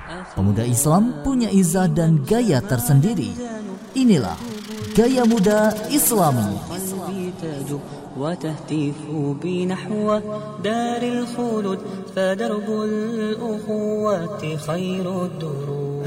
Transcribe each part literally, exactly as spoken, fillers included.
Pemuda Islam punya izah dan gaya tersendiri. Inilah Gaya Muda Islami. وتهتف بنحو دار الخلود فدرب الأخوة خير الدروب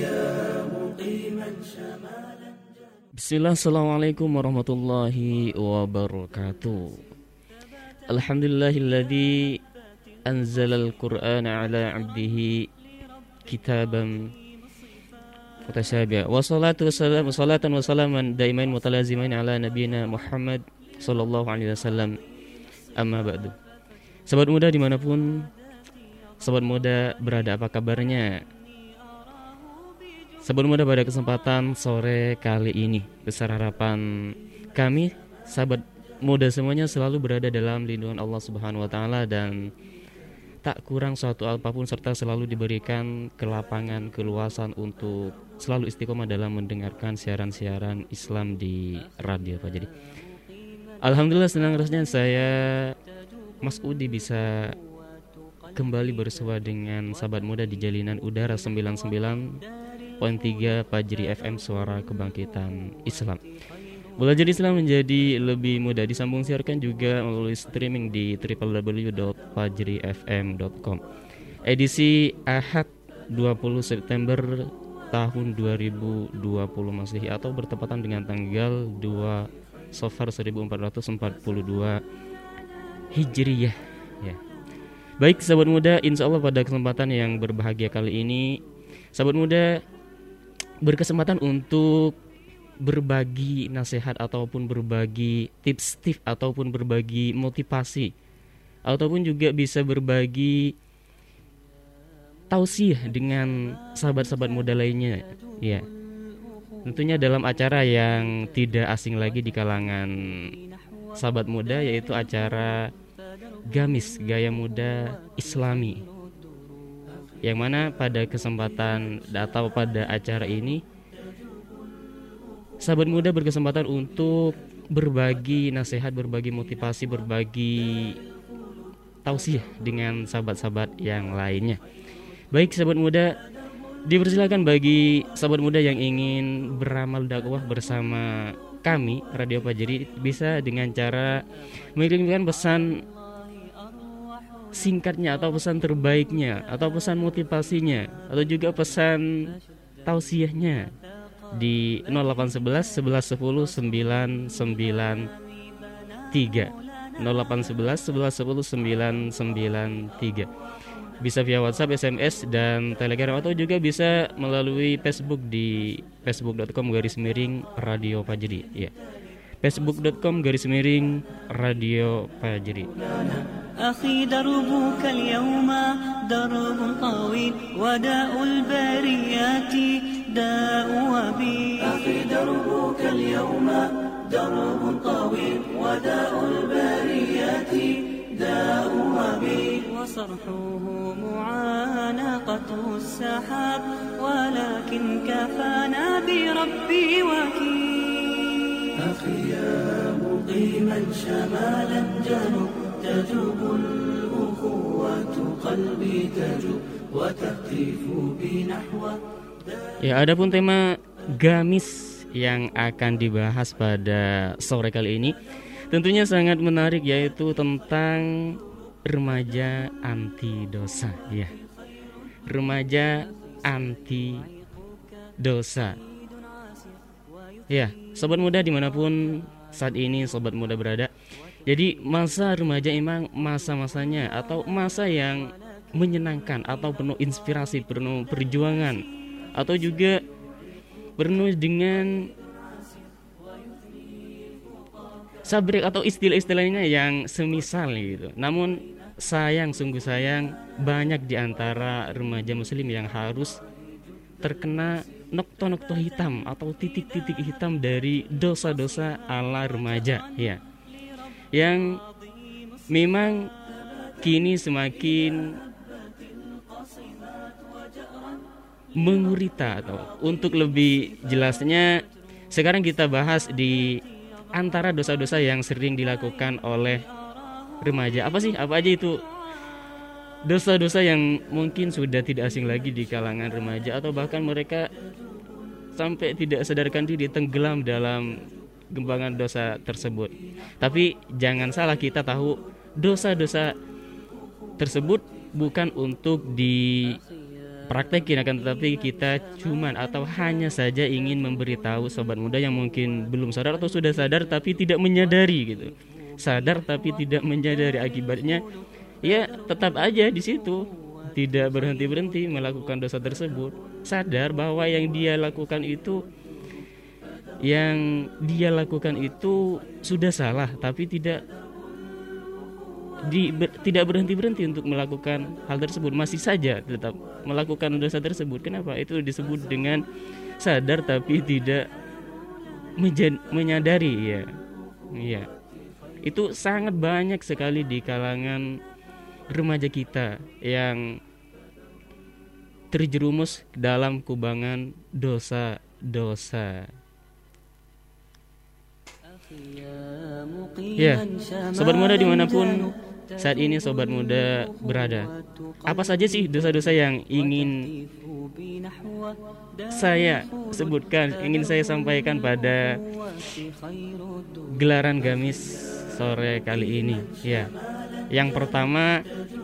Bismillah, assalamualaikum warahmatullahi wabarakatuh. Alhamdulillahilladzi anzalal qur'ana ala abdihi kitaban mutasyabiha. Wassalatu wassalamu salatan wa salaman daimain mutalazimain ala nabiyina Muhammad sallallahu alaihi wasallam. Amma ba'du. Sahabat muda dimanapun sahabat muda berada, apa kabarnya? Sahabat muda, pada kesempatan sore kali ini besar harapan kami sahabat muda semuanya selalu berada dalam lindungan Allah Subhanahu wa taala dan tak kurang suatu apapun, serta selalu diberikan kelapangan, keluasan untuk selalu istiqomah dalam mendengarkan siaran-siaran Islam di Radio Fajri. Alhamdulillah, senang rasanya saya Mas Udi bisa kembali bersua dengan sahabat muda di jalinan udara sembilan puluh sembilan koma tiga Fajri F M, Suara Kebangkitan Islam. Belajar Islam menjadi lebih mudah, disambung siarkan juga melalui streaming di w w w dot fajri f m dot com. Edisi Ahad dua puluh September tahun dua ribu dua puluh Masehi atau bertepatan dengan tanggal dua Safar seribu empat ratus empat puluh dua Hijriyah ya. Baik sahabat muda, insya Allah pada kesempatan yang berbahagia kali ini sahabat muda berkesempatan untuk berbagi nasihat ataupun berbagi tips-tips ataupun berbagi motivasi ataupun juga bisa berbagi tausiah dengan sahabat-sahabat muda lainnya ya. Tentunya dalam acara yang tidak asing lagi di kalangan sahabat muda, yaitu acara Gamis, Gaya Muda Islami, yang mana pada kesempatan atau pada acara ini sahabat muda berkesempatan untuk berbagi nasihat, berbagi motivasi, berbagi tausiah dengan sahabat-sahabat yang lainnya. Baik sahabat muda, dipersilakan bagi sahabat muda yang ingin beramal dakwah bersama kami Radio Fajri bisa dengan cara mengirimkan pesan singkatnya atau pesan terbaiknya atau pesan motivasinya atau juga pesan tausiahnya di nol delapan satu satu satu satu sembilan sembilan tiga nol delapan satu satu satu satu sembilan sembilan tiga. Bisa via WhatsApp, S M S, dan Telegram, atau juga bisa melalui Facebook di facebook dot com garis miring Radio Fajri ya. facebook dot com garis miring Radio Fajri. أخي دربك اليوم درب طويل وداء البريات داء وبيل أخي دربك اليوم درب طويل وداء البريات داء وبيل وصرحه معانقة السحاب ولكن كفانا بربي وكيل أخي يا مقيما شمالا جنوب تجوب الأخوة قلبي تجوب وتهتف بنحو. Ya, adapun tema Gamis yang akan dibahas pada sore kali ini tentunya sangat menarik, yaitu tentang remaja anti dosa ya. Remaja anti dosa. Ya, sobat muda dimanapun saat ini sobat muda berada. Jadi masa remaja emang masa-masanya atau masa yang menyenangkan atau penuh inspirasi, penuh perjuangan, atau juga penuh dengan sabrek atau istilah-istilahnya yang semisal gitu. Namun sayang, sungguh sayang, banyak di antara remaja muslim yang harus terkena nokto-nokto hitam atau titik-titik hitam dari dosa-dosa ala remaja ya. Yang memang kini semakin mengurita, atau untuk lebih jelasnya sekarang kita bahas di antara dosa-dosa yang sering dilakukan oleh remaja. Apa sih? Apa aja itu dosa-dosa yang mungkin sudah tidak asing lagi di kalangan remaja, atau bahkan mereka sampai tidak sadarkan diri tenggelam dalam gembangan dosa tersebut. Tapi jangan salah, kita tahu dosa-dosa tersebut bukan untuk dipraktekin, akan tetapi kita cuman atau hanya saja ingin memberitahu sobat muda yang mungkin belum sadar atau sudah sadar tapi tidak menyadari gitu. Sadar tapi tidak menyadari akibatnya, ya tetap aja di situ, tidak berhenti-berhenti melakukan dosa tersebut. Sadar bahwa yang dia lakukan itu yang dia lakukan itu sudah salah, tapi tidak di, ber, tidak berhenti-berhenti untuk melakukan hal tersebut, masih saja tetap melakukan dosa tersebut. Kenapa? Itu disebut dengan sadar tapi tidak menjad, menyadari ya. Iya. Itu sangat banyak sekali di kalangan remaja kita yang terjerumus dalam kubangan dosa-dosa. Ya, sobat muda dimanapun saat ini sobat muda berada, apa saja sih dosa-dosa yang ingin saya sebutkan, ingin saya sampaikan pada gelaran gamis sore kali ini? Ya, yang pertama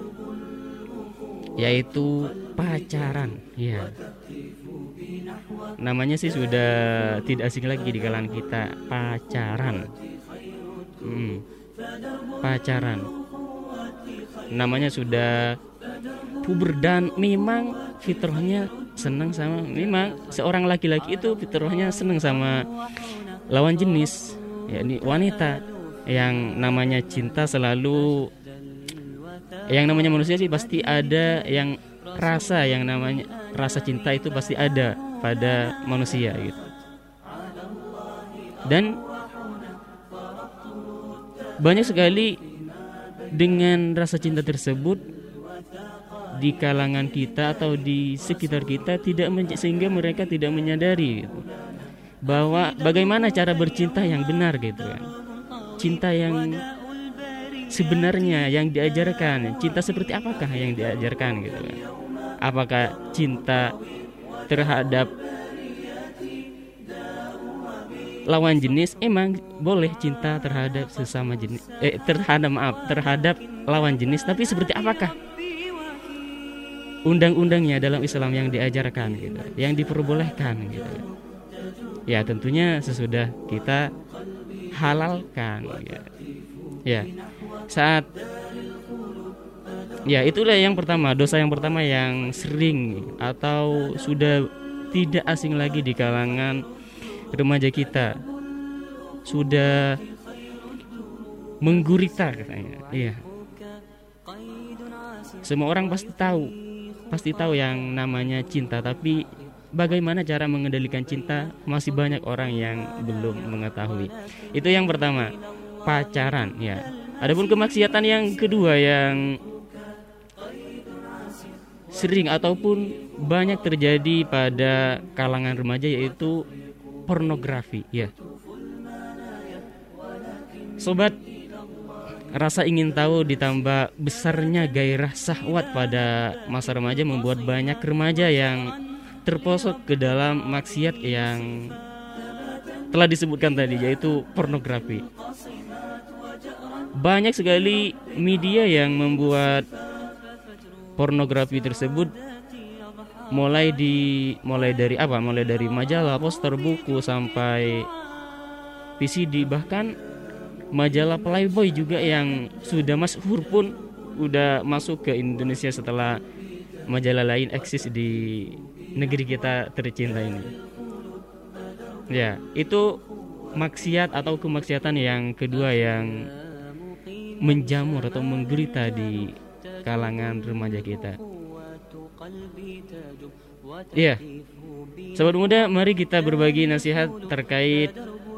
yaitu pacaran. Ya, namanya sih sudah tidak asing lagi di kalangan kita, pacaran. Hmm, pacaran. Namanya sudah puber dan memang fitrahnya senang sama, memang seorang laki-laki itu fitrahnya senang sama lawan jenis, yakni wanita. Yang namanya cinta selalu, yang namanya manusia sih pasti ada yang rasa, yang namanya rasa cinta itu pasti ada pada manusia gitu. Dan banyak sekali dengan rasa cinta tersebut di kalangan kita atau di sekitar kita tidak men- sehingga mereka tidak menyadari gitu, bahwa bagaimana cara bercinta yang benar gitu kan. Cinta yang sebenarnya yang diajarkan, cinta seperti apakah yang diajarkan gitu kan. Apakah cinta terhadap lawan jenis? Emang boleh cinta terhadap sesama jenis, eh terhadap maaf terhadap lawan jenis, tapi seperti apakah undang-undangnya dalam Islam yang diajarkan gitu, yang diperbolehkan gitu. Ya tentunya sesudah kita halalkan ya. Ya, saat ya itulah yang pertama, dosa yang pertama yang sering atau sudah tidak asing lagi di kalangan remaja kita, sudah menggurita katanya. Iya. Semua orang pasti tahu, pasti tahu yang namanya cinta, tapi bagaimana cara mengendalikan cinta masih banyak orang yang belum mengetahui. Itu yang pertama, pacaran ya. Adapun kemaksiatan yang kedua yang sering ataupun banyak terjadi pada kalangan remaja yaitu pornografi ya. Sobat, rasa ingin tahu ditambah besarnya gairah syahwat pada masa remaja membuat banyak remaja yang terposok ke dalam maksiat yang telah disebutkan tadi, yaitu pornografi. Banyak sekali media yang membuat pornografi tersebut, mulai di mulai dari apa? Mulai dari majalah, poster, buku sampai V C D, bahkan majalah Playboy juga yang sudah masyhur pun udah masuk ke Indonesia setelah majalah lain eksis di negeri kita tercinta ini. Ya, itu maksiat atau kemaksiatan yang kedua yang menjamur atau menggurita di kalangan remaja kita. Ya, sobat muda, mari kita berbagi nasihat terkait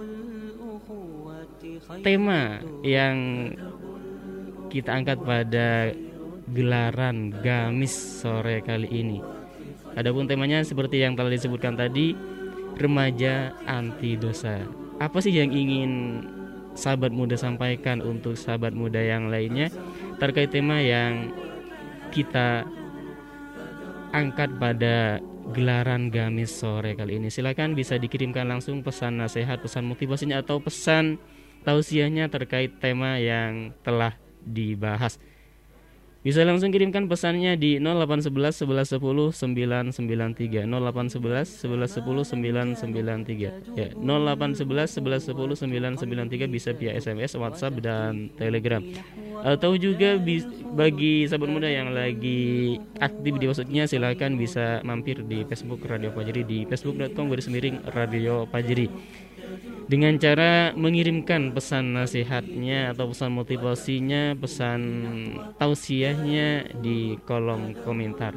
tema yang kita angkat pada gelaran gamis sore kali ini. Adapun temanya seperti yang telah disebutkan tadi, remaja anti dosa. Apa sih yang ingin sahabat muda sampaikan untuk sahabat muda yang lainnya terkait tema yang kita angkat pada gelaran Gamis sore kali ini. Silakan bisa dikirimkan langsung pesan nasihat, pesan motivasinya atau pesan tausiahnya terkait tema yang telah dibahas. Bisa langsung kirimkan pesannya di nol delapan satu satu satu satu sembilan sembilan tiga nol delapan satu satu satu satu sembilan sembilan tiga ya nol delapan satu satu satu satu sembilan sembilan tiga bisa via S M S, WhatsApp dan Telegram. Atau juga bagi sahabat muda yang lagi aktif di Facebooknya, silakan bisa mampir di Facebook Radio Fajri di facebook dot com garis miring Radio Fajri dengan cara mengirimkan pesan nasihatnya atau pesan motivasinya, pesan tausiahnya di kolom komentar.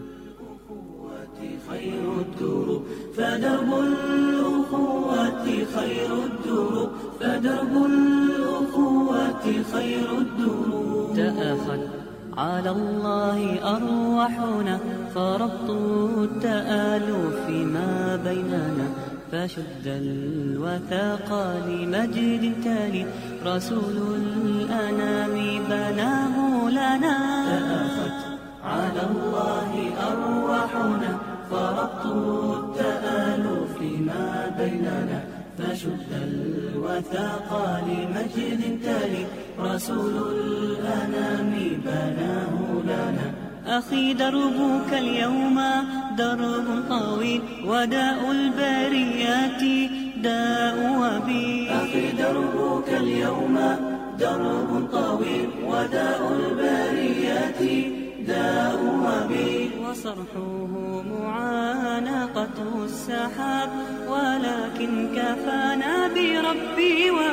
على الله أرواحنا فربط التآلف ما بيننا فشد الوثاق لمجد تالي رسول الأنام بناه لنا تأخت على الله أرواحنا فربط التآلف ما بيننا فشد الوثاق لمجد تالي رسول الأنام بناه لنا أخي دربك اليوم درب طويل وداء البريات داء وبيل أخي دربك اليوم درب طويل وداء البريات داء وبيل وصرحه معانقة السحاب ولكن كفانا بربي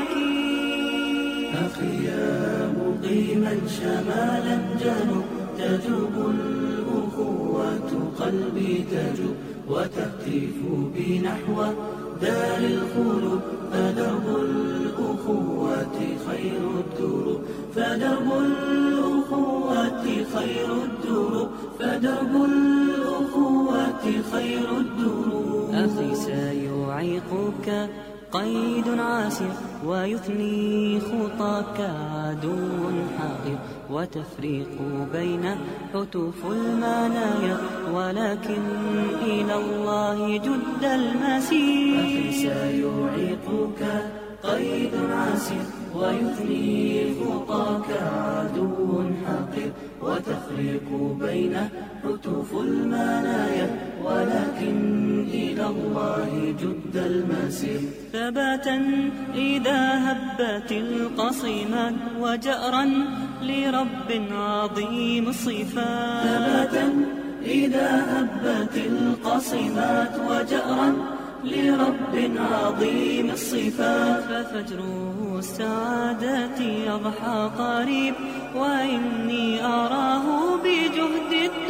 وكيل أخي يا مقيما شمالا جنوب تجوب الأخوة قلبي تجوب وتهتف بي نحو دار الخلود فدرب الأخوة خير الدروب فدرب الأخوة خير الدروب فدرب الأخوة خير الدروب أخي سيعيقك قيد عاسر ويثني خطاك عدو حائر وتفريق بين حتوف المنايا ولكن إلى الله جد المسير أخي سيعيقك قيد عسير ويثني خطاك عدو حقير وتفريق بين حتوف المنايا ولكن إلى الله جد المسير ثباتا إذا هبت القصيمات وجأرا لرب عظيم الصفات ثباتا إذا هبت القصيمات وجأرا لرب عظيم الصفات ففجر السعادة يضحى قريب وإني أراه بجهد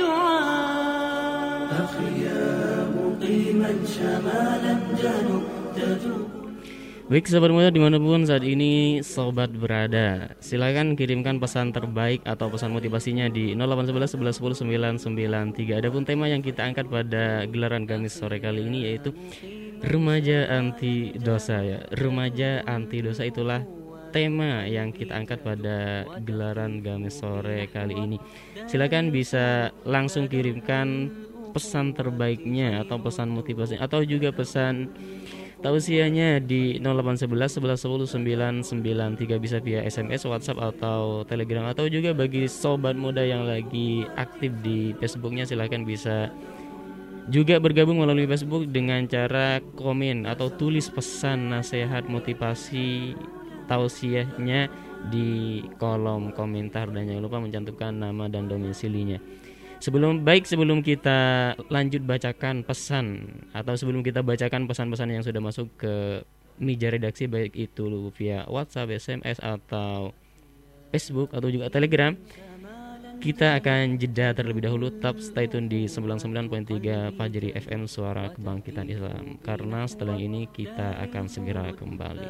الدعاء أخي يا مقيما شمالا جنوب تجوب. Baik sahabat muda dimanapun saat ini sobat berada, silakan kirimkan pesan terbaik atau pesan motivasinya di nol delapan satu satu satu satu sembilan sembilan tiga. Adapun tema yang kita angkat pada gelaran Gamis sore kali ini yaitu remaja anti dosa ya. Remaja anti dosa itulah tema yang kita angkat pada gelaran Gamis sore kali ini. Silakan bisa langsung kirimkan pesan terbaiknya atau pesan motivasi atau juga pesan tausiahnya di nol delapan satu satu satu satu sembilan sembilan tiga bisa via S M S, WhatsApp atau Telegram. Atau juga bagi sobat muda yang lagi aktif di Facebooknya, silahkan bisa juga bergabung melalui Facebook dengan cara komen atau tulis pesan nasihat motivasi tausiahnya di kolom komentar dan jangan lupa mencantumkan nama dan domisilinya. Sebelum baik sebelum kita lanjut bacakan pesan atau sebelum kita bacakan pesan-pesan yang sudah masuk ke meja redaksi baik itu via WhatsApp, S M S atau Facebook atau juga Telegram, kita akan jeda terlebih dahulu. Tetap stay tune di sembilan puluh sembilan koma tiga Fajri F M Suara Kebangkitan Islam, karena setelah ini kita akan segera kembali.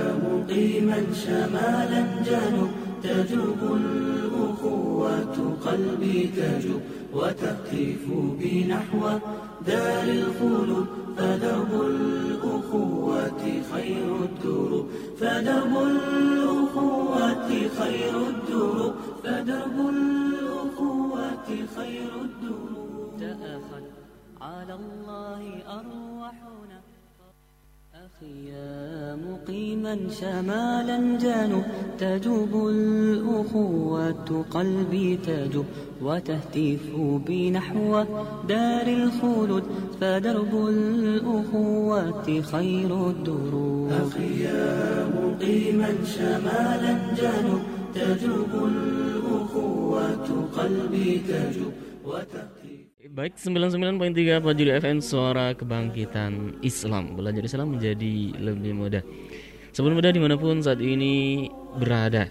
تجوب الأخوة قلبي تجب وتهتف بنحو دار الخلود فدرب الأخوة خير الدروب فدرب الأخوة خير الدروب فدرب الأخوة خير الدروب تأخذ على الله أرواحنا أخي يا مقيما شمالا جانب تجوب الأخوة قلبي تجوب وتهتف بنحو دار الخلود فدرب الأخوة خير الدروب أخي يا مقيما شمالا جانب تجوب الأخوة قلبي تجوب وتهتف. Baik, sembilan puluh sembilan koma tiga Fajri F M, suara kebangkitan Islam. Belajar Islam menjadi lebih mudah. Sebelum mudah dimanapun saat ini berada.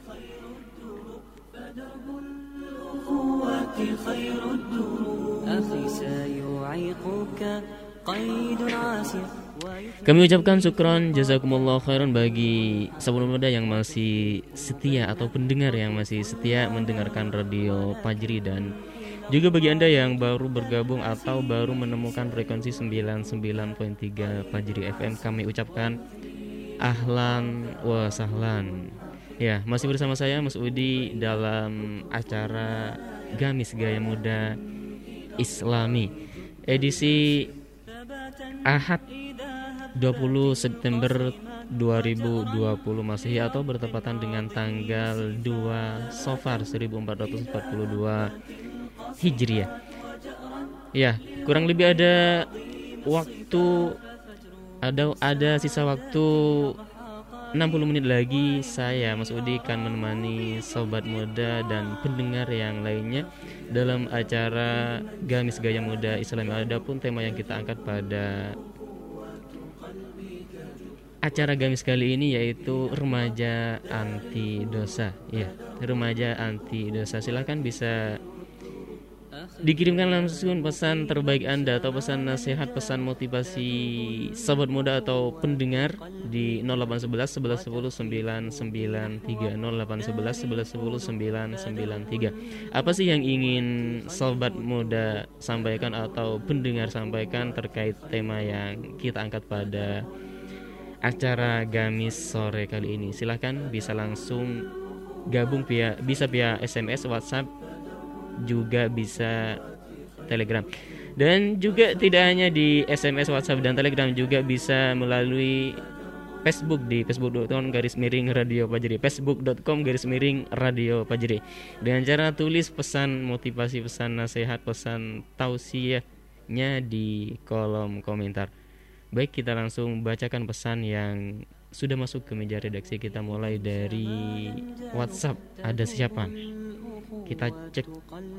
Kami ucapkan syukran jazakumullah khairan bagi sebelum muda yang masih setia atau pendengar yang masih setia mendengarkan radio Fajri, dan juga bagi Anda yang baru bergabung atau baru menemukan frekuensi sembilan puluh sembilan koma tiga Fajri F M, kami ucapkan ahlan wa sahlan. Ya, masih bersama saya Mas Udi dalam acara Gamis Gaya Muda Islami edisi Ahad dua puluh September dua ribu dua puluh Masehi atau bertepatan dengan tanggal dua Safar seribu empat ratus empat puluh dua Hijriah. Ya, kurang lebih ada waktu ada ada sisa waktu enam puluh menit lagi saya Mas Udi akan menemani sobat muda dan pendengar yang lainnya dalam acara Gamis Gaya Muda Islam. Adapun tema yang kita angkat pada acara Gamis kali ini yaitu remaja anti dosa. Ya, remaja anti dosa. Silakan bisa dikirimkan langsung pesan terbaik Anda atau pesan nasihat, pesan motivasi sahabat muda atau pendengar di nol delapan satu satu satu satu sembilan sembilan tiga nol delapan satu satu satu satu sembilan sembilan tiga. Apa sih yang ingin sahabat muda sampaikan atau pendengar sampaikan terkait tema yang kita angkat pada acara Gamis sore kali ini? Silahkan bisa langsung gabung via bisa via S M S, WhatsApp, juga bisa Telegram. Dan juga tidak hanya di S M S, WhatsApp, dan Telegram, juga bisa melalui Facebook di facebook dot com garis miring radio Fajri, facebook dot com garis miring radio Fajri. Dengan cara tulis pesan motivasi, pesan nasihat, pesan tausiahnya di kolom komentar. Baik, kita langsung bacakan pesan yang sudah masuk ke meja redaksi. Kita mulai dari WhatsApp. Ada siapa? Kita cek.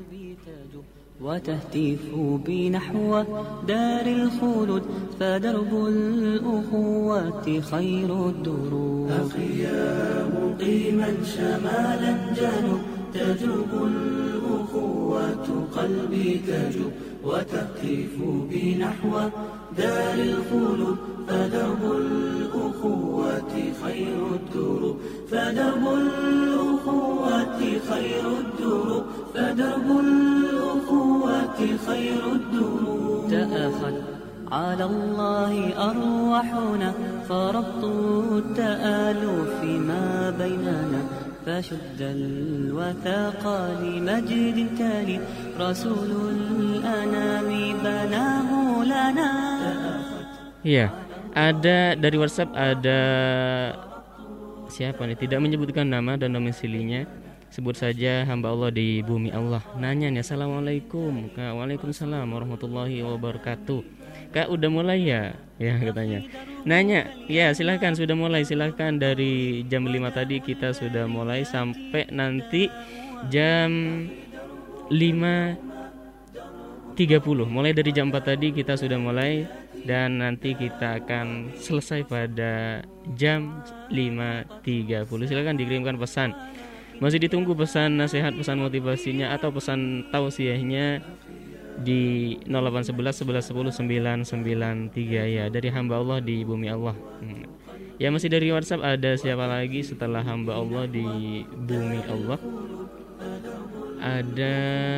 وتهتف بنحو دار الخلود فدرب الأخوة خير الدروب أخي يا مقيما شمالا جنوب تجوب الأخوة قلبي تجوب وتهتف بنحو دار الخلود فدرب الأخوة خير الدروب فدرب الأخوة خير الدروب فدرب الأخوة خير الدروب تأخذ على الله أرواحنا فربط التآلف ما بيننا فشد الوثاق لمجد تالي رسول الأنام بناه لنا. Ya, ada dari WhatsApp, ada siapa nih, tidak menyebutkan nama dan domisilinya. Sebut saja hamba Allah di bumi Allah. Nanya nih, assalamualaikum Kak. Waalaikumsalam warahmatullahi wabarakatuh. Kak, udah mulai ya? Ya, katanya. Nanya, ya silahkan, sudah mulai. Silahkan, dari jam lima tadi kita sudah mulai sampai nanti jam lima tiga puluh. Mulai dari jam empat tadi kita sudah mulai, dan nanti kita akan selesai pada jam lima tiga puluh. Silahkan dikirimkan pesan. Masih ditunggu pesan nasihat, pesan motivasinya atau pesan tausiahnya di nol delapan satu satu satu satu sembilan sembilan tiga, ya, dari hamba Allah di bumi Allah. hmm. Ya, masih dari WhatsApp. Ada siapa lagi setelah hamba Allah di bumi Allah? ada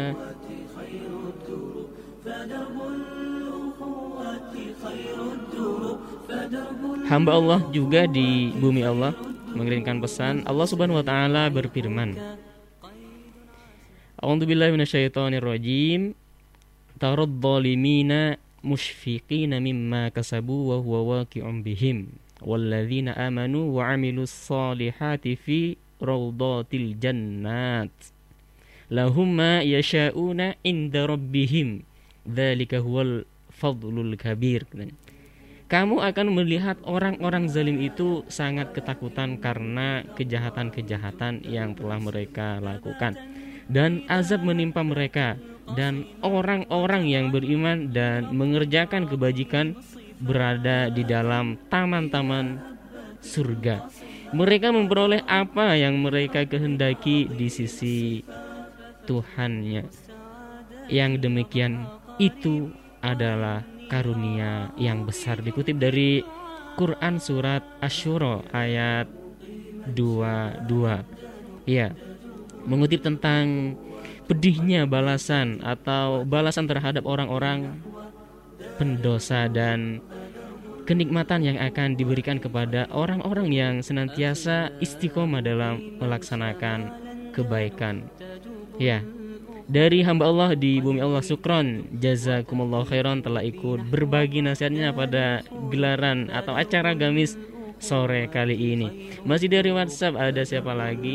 hamba Allah juga di bumi Allah mengirimkan pesan. Allah Subhanahu wa taala berfirman, A'udzubillahi minasyaitonirrajim. Tarad zalimina musyfiqina mimma kasabu wa huwa waqi'un bihim walladzina amanu wa 'amilus solihati fi rawdatil jannat lahum ma yasha'una 'inda rabbihim dzalika huwal fadlul kabir. Kamu akan melihat orang-orang zalim itu sangat ketakutan karena kejahatan-kejahatan yang telah mereka lakukan, dan azab menimpa mereka, dan orang-orang yang beriman dan mengerjakan kebajikan berada di dalam taman-taman surga. Mereka memperoleh apa yang mereka kehendaki di sisi Tuhannya. Yang demikian itu adalah karunia yang besar. Dikutip dari Quran surat Asy-Syura ayat dua puluh dua. Ya, mengutip tentang pedihnya balasan atau balasan terhadap orang-orang pendosa dan kenikmatan yang akan diberikan kepada orang-orang yang senantiasa istiqomah dalam melaksanakan kebaikan. Ya, dari hamba Allah di bumi Allah, syukron jazakumullah khairan telah ikut berbagi nasihatnya pada gelaran atau acara gamis sore kali ini. Masih dari WhatsApp, ada siapa lagi?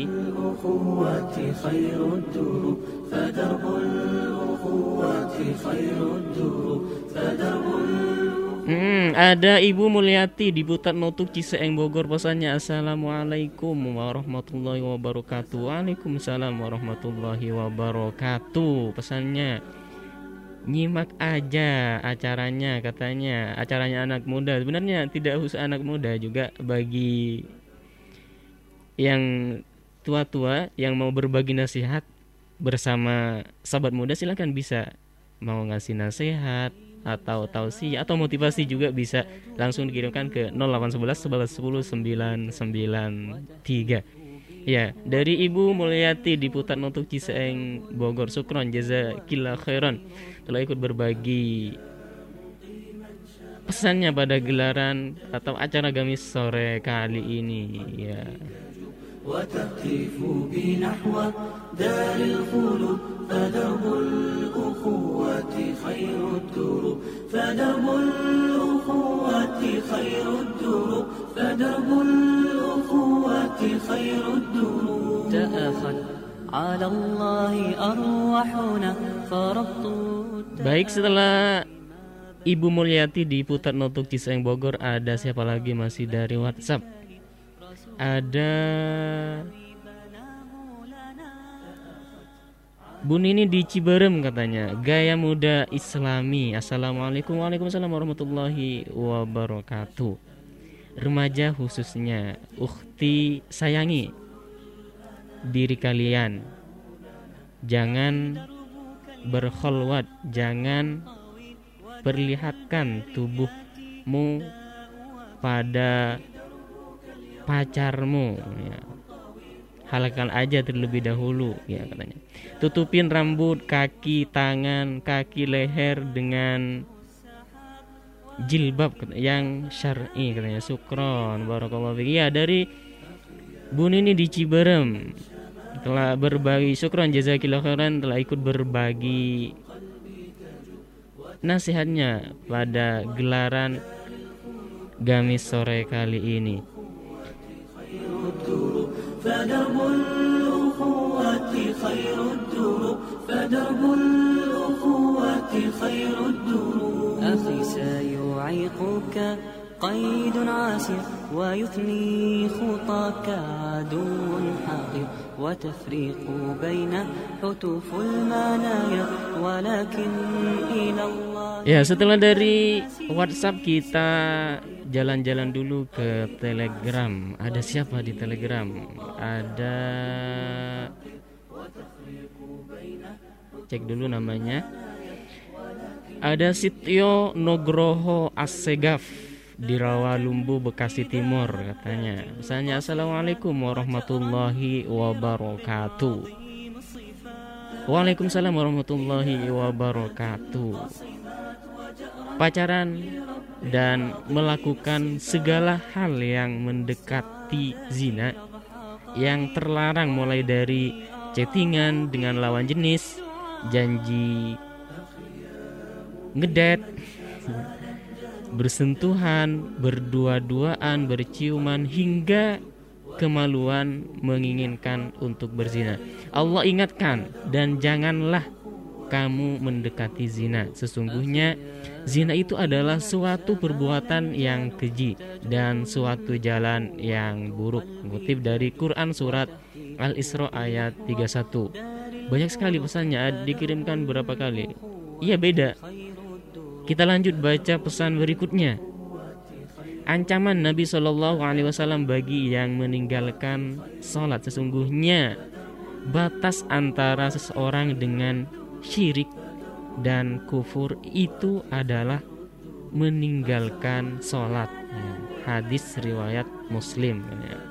Hmm, ada Ibu Mulyati di Butat Notuk Ciseeng Bogor. Pesannya, Assalamualaikum warahmatullahi wabarakatuh. Waalaikumsalam warahmatullahi wabarakatuh. Pesannya, nyimak aja acaranya, katanya acaranya anak muda. Sebenarnya tidak khusus anak muda, juga bagi yang tua-tua yang mau berbagi nasihat bersama sahabat muda, silakan bisa mau ngasih nasihat atau tausiah atau motivasi juga bisa langsung dikirimkan ke nol delapan satu satu sebelas sepuluh sembilan sembilan tiga. Ya, dari Ibu Mulyati di Putat Notuk Ciseeng Bogor, syukron jazakillah khairan telah ikut berbagi pesannya pada gelaran atau acara gamis sore kali ini. Ya. وتهتف بنحو دار الخلود فدرب الأخوة خير الدروب فدرب الأخوة خير الدروب فدرب الأخوة خير الدروب تأخذ على الله أرواحنا فربط. Baik, setelah Ibu Mulyati di Putat Notuk Ciseeng Bogor, ada siapa lagi masih dari WhatsApp? Ada Bu Nini di Ciberem, katanya gaya muda Islami. Assalamualaikum. Waalaikumsalam warahmatullahi wabarakatuh. Remaja khususnya, ukhti, sayangi diri kalian, jangan berkholwat, jangan perlihatkan tubuhmu pada pacarmu, ya. Halakkan aja terlebih dahulu, ya, katanya. Tutupin rambut, kaki, tangan, kaki, leher dengan jilbab yang syar'i, katanya. Syukron, barakallahu fiik. Ya, dari Bu Nini di Ciberem telah berbagi, syukron jazakillah khairan telah ikut berbagi nasihatnya pada gelaran gamis sore kali ini. فدرب الأخوة خير الدروب فدرب الأخوة خير الدروب أخي سيعيقك قيد عاسر ويثني خطاك عدو حاقد وتفريق بين حتوف المنايا ولكن إلى الله. Ya, setelah dari WhatsApp kita jalan-jalan dulu ke Telegram. Ada siapa di Telegram? Ada, cek dulu namanya. Ada Sityo Nugroho Assegaf di Rawalumbu, Bekasi Timur, katanya. Misalnya, Assalamualaikum warahmatullahi wabarakatuh. Waalaikumsalam warahmatullahi wabarakatuh. Pacaran dan melakukan segala hal yang mendekati zina yang terlarang, mulai dari chattingan dengan lawan jenis, janji ngedate, bersentuhan, berdua-duaan, berciuman, hingga kemaluan menginginkan untuk berzina. Allah ingatkan, dan janganlah kamu mendekati zina. Sesungguhnya zina itu adalah suatu perbuatan yang keji dan suatu jalan yang buruk. Mengutip dari Quran surat Al-Isra ayat tiga puluh satu. Banyak sekali pesannya, dikirimkan berapa kali? Iya, beda. Kita lanjut baca pesan berikutnya. Ancaman Nabi shallallahu alaihi wasallam bagi yang meninggalkan sholat. Sesungguhnya batas antara seseorang dengan syirik dan kufur itu adalah meninggalkan sholat. Hadis riwayat Muslim.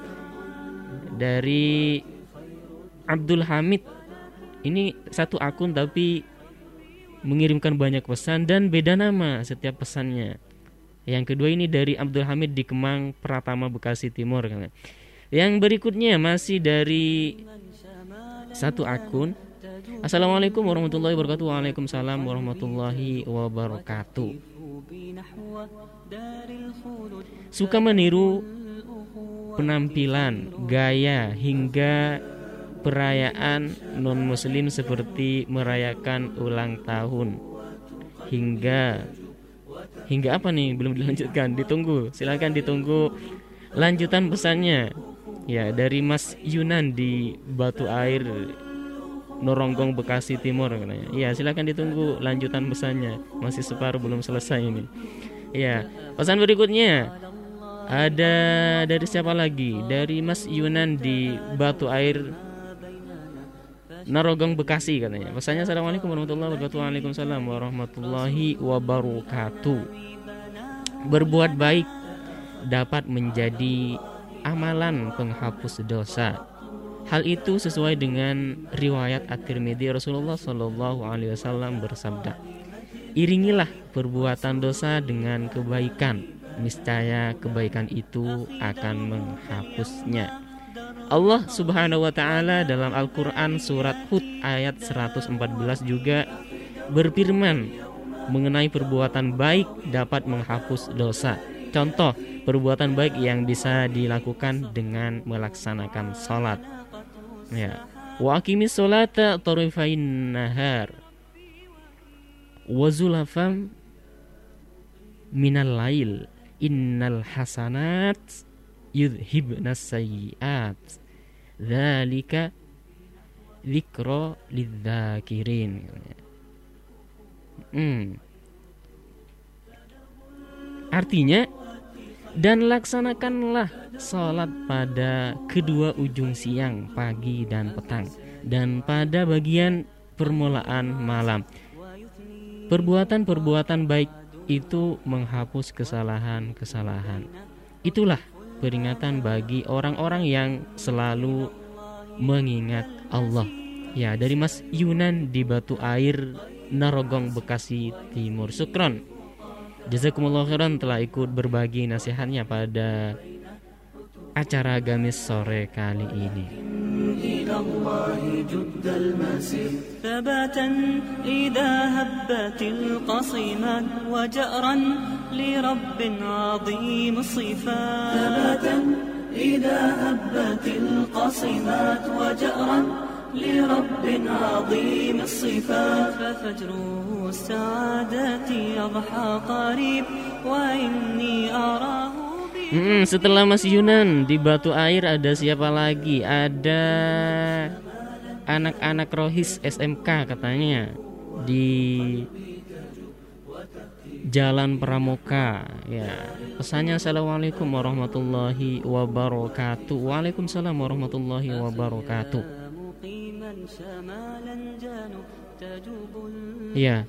Dari Abdul Hamid, ini satu akun tapi mengirimkan banyak pesan dan beda nama setiap pesannya. Yang kedua ini dari Abdul Hamid di Kemang, Pratama, Bekasi Timur. Yang berikutnya masih dari satu akun. Assalamualaikum warahmatullahi wabarakatuh. Waalaikumsalam warahmatullahi wabarakatuh. Suka meniru penampilan, gaya, hingga perayaan non-muslim seperti merayakan ulang tahun. Hingga Hingga apa nih? Belum dilanjutkan. Ditunggu. Silakan ditunggu lanjutan pesannya. Ya, dari Mas Yunan di Batu Air, Noronggong, Bekasi Timur. Ya, silakan ditunggu lanjutan pesannya. Masih separuh, belum selesai ini. Ya, pesan berikutnya ada dari siapa lagi? Dari Mas Yunan di Batu Air, Narogong, Bekasi katanya. Pesannya, Assalamualaikum warahmatullahi wabarakatuh. Waalaikumsalam warahmatullahi wabarakatuh. Berbuat baik dapat menjadi amalan penghapus dosa. Hal itu sesuai dengan riwayat At-Tirmidzi. Rasulullah shallallahu alaihi wasallam bersabda, iringilah perbuatan dosa dengan kebaikan, niscaya kebaikan itu akan menghapusnya. Allah subhanahu wa ta'ala dalam Al-Quran surat Hud ayat seratus empat belas juga berfirman mengenai perbuatan baik dapat menghapus dosa. Contoh perbuatan baik yang bisa dilakukan dengan melaksanakan salat. Ya. Wa aqimis sholata tarifain nahar wa zulafam minal lail innal hasanat yudhibnas sayyiat dzalika dzikra lidzakirin. Hmm. Artinya, dan laksanakanlah salat pada kedua ujung siang, pagi dan petang, dan pada bagian permulaan malam. Perbuatan-perbuatan baik itu menghapus kesalahan-kesalahan. Itulah peringatan bagi orang-orang yang selalu mengingat Allah. Ya, dari Mas Yunan di Batu Air, Narogong, Bekasi Timur. Syukron, jazakumullah khairan telah ikut berbagi nasihatnya pada acara Gamis sore kali ini. ثباتا إذا هبت القصيمات وجأرا لرب عظيم الصفات ثباتا إذا هبت القصيمات وجأرا لرب عظيم الصفات ففجر السعادة يضحى قريب وإني أراه. Hmm, setelah Mas Yunan di Batu Air ada siapa lagi? Ada anak-anak Rohis S M K katanya di Jalan Pramuka. Ya, pesannya Assalamualaikum warahmatullahi wabarakatuh. Waalaikumsalam warahmatullahi wabarakatuh. Ya,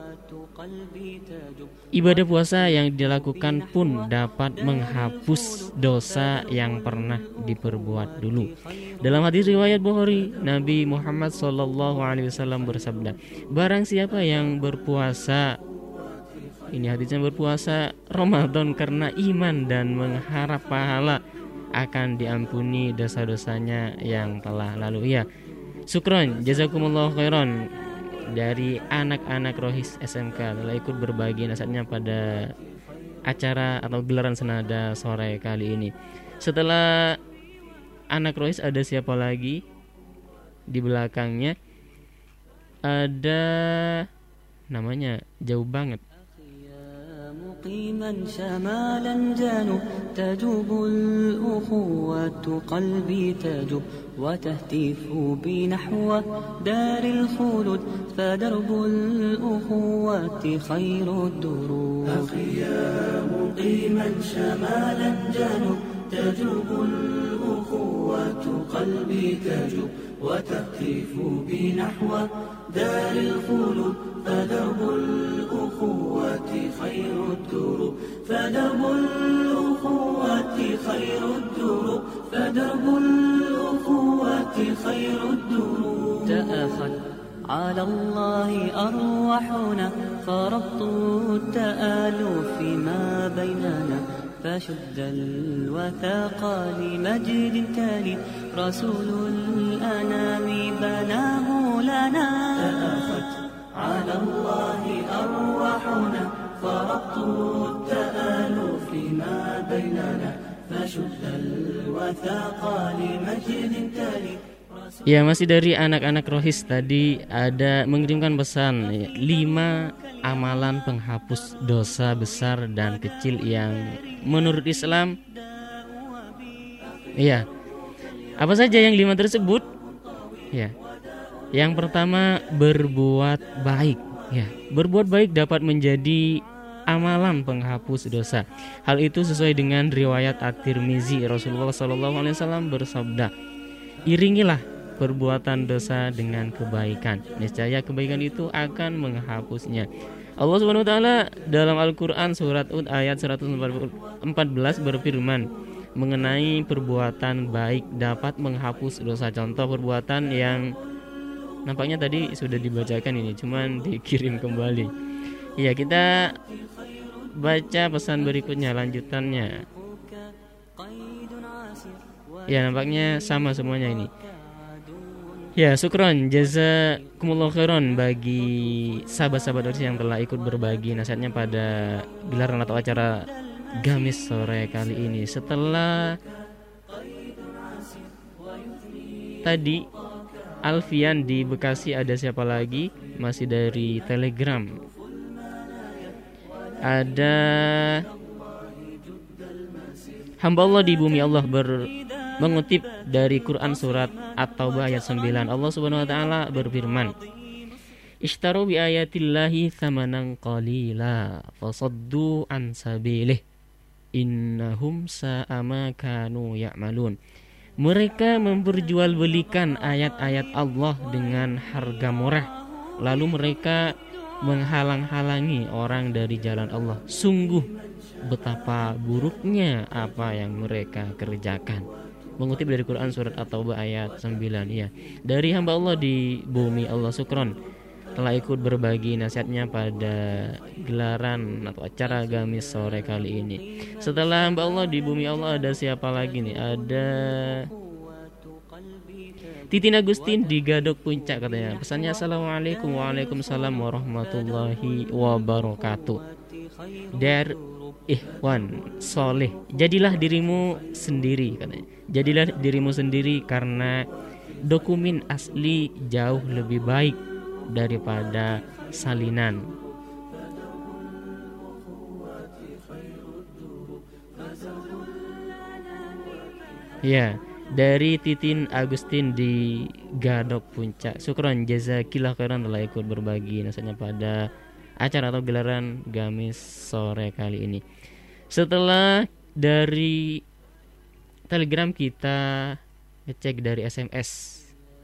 ibadah puasa yang dilakukan pun dapat menghapus dosa yang pernah diperbuat dulu. Dalam hadis riwayat Bukhari, Nabi Muhammad shallallahu alaihi wasallam bersabda, barang siapa yang berpuasa, ini hadisnya, berpuasa Ramadan karena iman dan mengharap pahala, akan diampuni dosa-dosanya yang telah lalu. Ya, syukron, jazakumullah khairan dari anak-anak Rohis S M K telah ikut berbagi nasihatnya pada acara atau gelaran senada sore kali ini. Setelah anak Rohis ada siapa lagi di belakangnya? Ada namanya jauh banget. مقيما شمالا جانوا تجوب الأخوة قلبي تجوب وتهتف بنحو دار الخلود فدرب الأخوة خير الدروب أخي يا مقيما شمالا جانوا تجوب الأخوة قلبي تجوب وتهتف بنحو دار الخلود فدرب الأخوة خير الدروب فدرب الأخوة خير الدروب فدرب الأخوة خير الدروب تأخذ على الله أرواحنا فربط التآلف ما بيننا فشد الوثاق لمجد تالي رسول الأنام بناه لنا تأخذ على الله أرواحنا فربط التآلف ما بيننا فشد الوثاق لمجد تالي. Ya, masih dari anak-anak Rohis tadi ada mengirimkan pesan lima amalan penghapus dosa besar dan kecil yang menurut Islam. Iya. Apa saja yang lima tersebut? Ya. Yang pertama, berbuat baik. Ya, berbuat baik dapat menjadi amalan penghapus dosa. Hal itu sesuai dengan riwayat At-Tirmizi. Rasulullah shallallahu alaihi wasallam bersabda, iringilah perbuatan dosa dengan kebaikan, niscaya kebaikan itu akan menghapusnya. Allah Subhanahu wa taala dalam Al-Qur'an surat Hud ayat seratus empat belas berfirman mengenai perbuatan baik dapat menghapus dosa. Contoh perbuatan yang nampaknya tadi sudah dibacakan ini, cuman dikirim kembali. Ya, kita baca pesan berikutnya, lanjutannya. Ya, nampaknya sama semuanya ini. Ya, syukron, jazakumullah khairan bagi sahabat-sahabat Rohis yang telah ikut berbagi nasihatnya pada gelaran atau acara Gamis sore kali ini. Setelah tadi Alfian di Bekasi, ada siapa lagi? Masih dari Telegram. Ada hamba Allah di bumi Allah ber mengutip dari Quran surat At-Taubah ayat sembilan. Allah Subhanahu wa taala berfirman, "Ishtaru bi ayatillahi tsamanan qalila fasaddu an sabilih innahum sa'a ma kanu ya'malun." Mereka memperjualbelikan ayat-ayat Allah dengan harga murah, lalu mereka menghalang-halangi orang dari jalan Allah. Sungguh betapa buruknya apa yang mereka kerjakan. Mengutip dari Quran surat At-Taubah ayat sembilan. Ya, dari hamba Allah di bumi Allah, syukron telah ikut berbagi nasihatnya pada gelaran atau acara Gamis sore kali ini. Setelah hamba Allah di bumi Allah ada siapa lagi nih? Ada Titin Agustin di Gadok Puncak katanya. Pesannya assalamualaikum, waalaikumsalam warahmatullahi wabarakatuh. Dar Ikhwan soleh, jadilah dirimu sendiri katanya. Jadilah dirimu sendiri karena dokumen asli jauh lebih baik daripada salinan. Ya, dari Titin Agustin di Gadok Puncak. Syukron, jazakillah khairan telah ikut berbagi nasihatnya pada acara atau gelaran Gamis sore kali ini. Setelah dari Telegram kita ngecek dari S M S.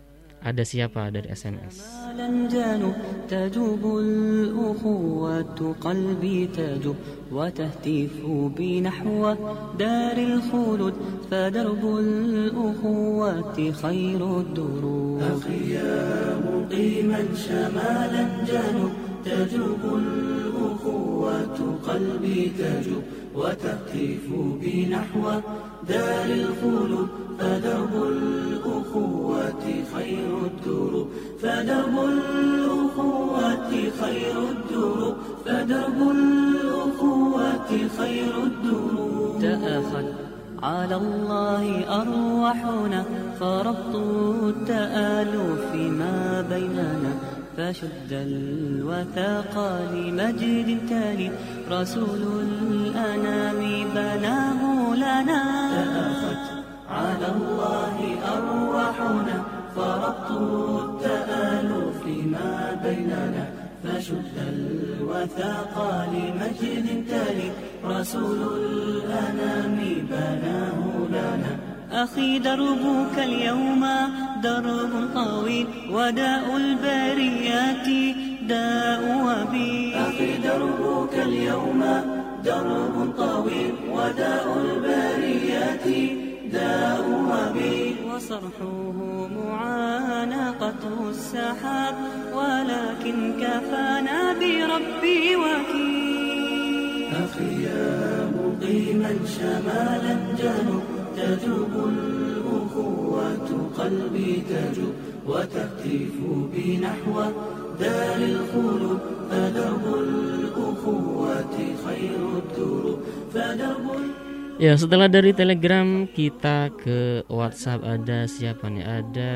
Ada siapa dari S M S? تجوب الأخوة قلبي تجوب وتهتف بي نحو دار الخلود فدرب الأخوة خير الدروب أخي يا مقيما شمالا جنوب تجوب الأخوة قلبي تجوب وتهتف بي نحو دار الخلود فدرب الأخوة خير الدروب فدرب الأخوة خير الدروب فدرب الأخوة خير الدروب تأخذ على الله أرواحنا فربط التآلف ما بيننا فشد الوثاق لمجد تالي رسول الأنام بناه لنا تأخذ على الله أرواحنا فربط التآلف ما بيننا فشد الوثاق لمجد تالي رسول الأنام بناه لنا أخي دربك اليوم درب طويل وداء البريات داء وبي أخي دربك اليوم درب طويل وداء البريات داء وبي وصرحه معانقة السحاب ولكن كفانا بربي وكيل أخي يا مقيما شمالا جنوب تجوب الأخوة قلبي تجوب وتهتف بي نحو دار الخلود فدرب الأخوة خير الدروب فدرب. Ya, setelah dari Telegram kita ke WhatsApp. Ada siapa nih? Ada,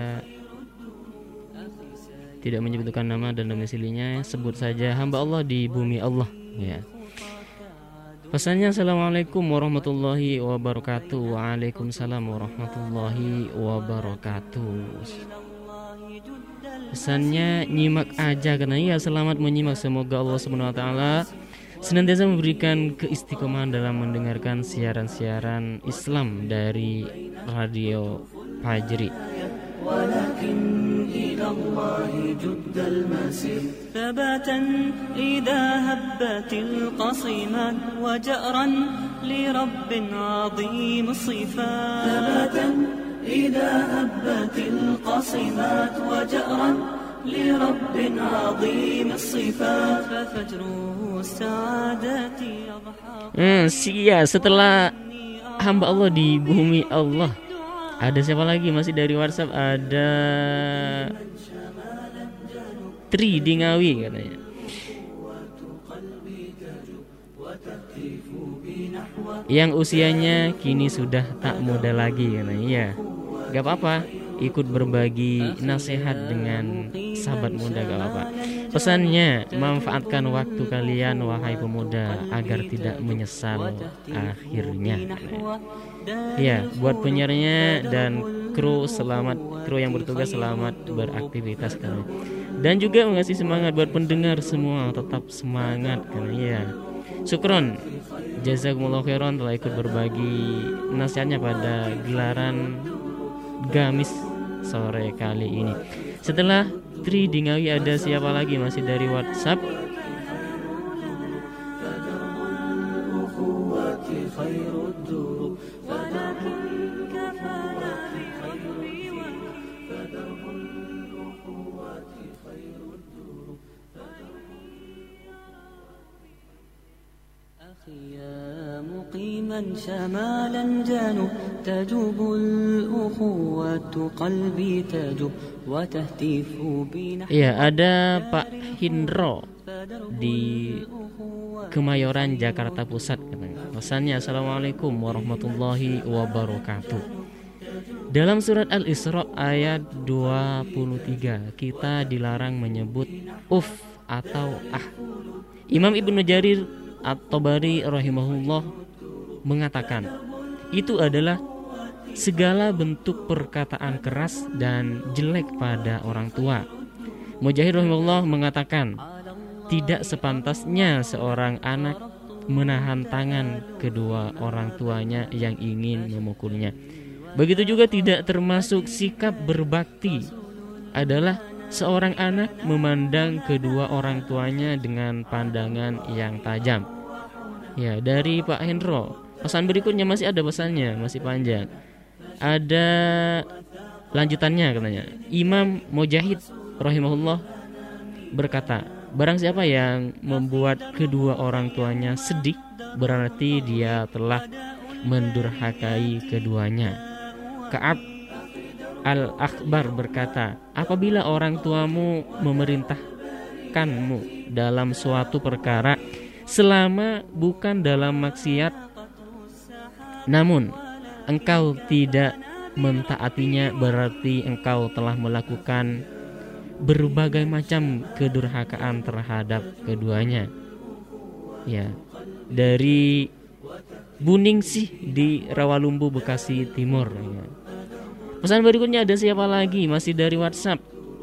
tidak menyebutkan nama dan domisilinya, sebut saja hamba Allah di bumi Allah. Ya. Pesannya assalamualaikum warahmatullahi wabarakatuh. Waalaikumsalam warahmatullahi wabarakatuh. Pesannya nyimak aja karena ya selamat menyimak. Semoga Allah subhanahu wa taala senantiasa memberikan keistiqomahan dalam mendengarkan siaran-siaran Islam dari Radio Fajri. ولكن إلى الله جد المسير ثباتا إذا هبت القصيمات وجأرا لرب عظيم الصفات ثباتا إذا هبت القصيمات وجأرا لرب عظيم الصفات ففجر السعادة يضحى. Hmm, sia setelah hamba Allah di bumi Allah. Ada siapa lagi? Masih dari WhatsApp ada Tri di Ngawi katanya. Yang usianya kini sudah tak muda lagi katanya. Iya. Gak apa-apa, ikut berbagi nasihat dengan sahabat muda gak apa-apa. Pesannya, manfaatkan waktu kalian wahai pemuda agar tidak menyesal akhirnya. Ya, buat penyiarnya dan kru selamat, kru yang bertugas selamat beraktivitas kalian. Dan juga mengasih semangat buat pendengar semua, tetap semangat kan ya. Syukron, jazakumullah khairan telah ikut berbagi nasihatnya pada gelaran Gamis sore kali ini. Setelah Tri di Ngawi ada siapa lagi? Masih dari WhatsApp. يا مقيما شمالا جنوب تجوب الأخوة قلبي تجوب وتهتف بنا. Iya, ada Pak Hindro di Kemayoran Jakarta Pusat katanya. Pesannya assalamualaikum warahmatullahi wabarakatuh. Dalam surat Al-Isra ayat dua puluh tiga kita dilarang menyebut uf atau ah. Imam Ibnu Jarir At-Tabari rahimahullah mengatakan itu adalah segala bentuk perkataan keras dan jelek pada orang tua. Mujahid rahimahullah mengatakan tidak sepantasnya seorang anak menahan tangan kedua orang tuanya yang ingin memukulnya. Begitu juga tidak termasuk sikap berbakti adalah seorang anak memandang kedua orang tuanya dengan pandangan yang tajam. Ya, dari Pak Hendro. Pesan berikutnya masih ada pesannya, masih panjang. Ada lanjutannya katanya. Imam Mujahid rahimahullah berkata, barang siapa yang membuat kedua orang tuanya sedih, berarti dia telah mendurhakai keduanya. Ka'ab Al-Akhbar berkata, apabila orang tuamu memerintahkanmu dalam suatu perkara selama bukan dalam maksiat, namun engkau tidak mentaatinya, berarti engkau telah melakukan berbagai macam kedurhakaan terhadap keduanya. Ya, dari Buningsih di Rawalumbu, Bekasi Timur. Ya. Pesan berikutnya ada siapa lagi? Masih dari WhatsApp.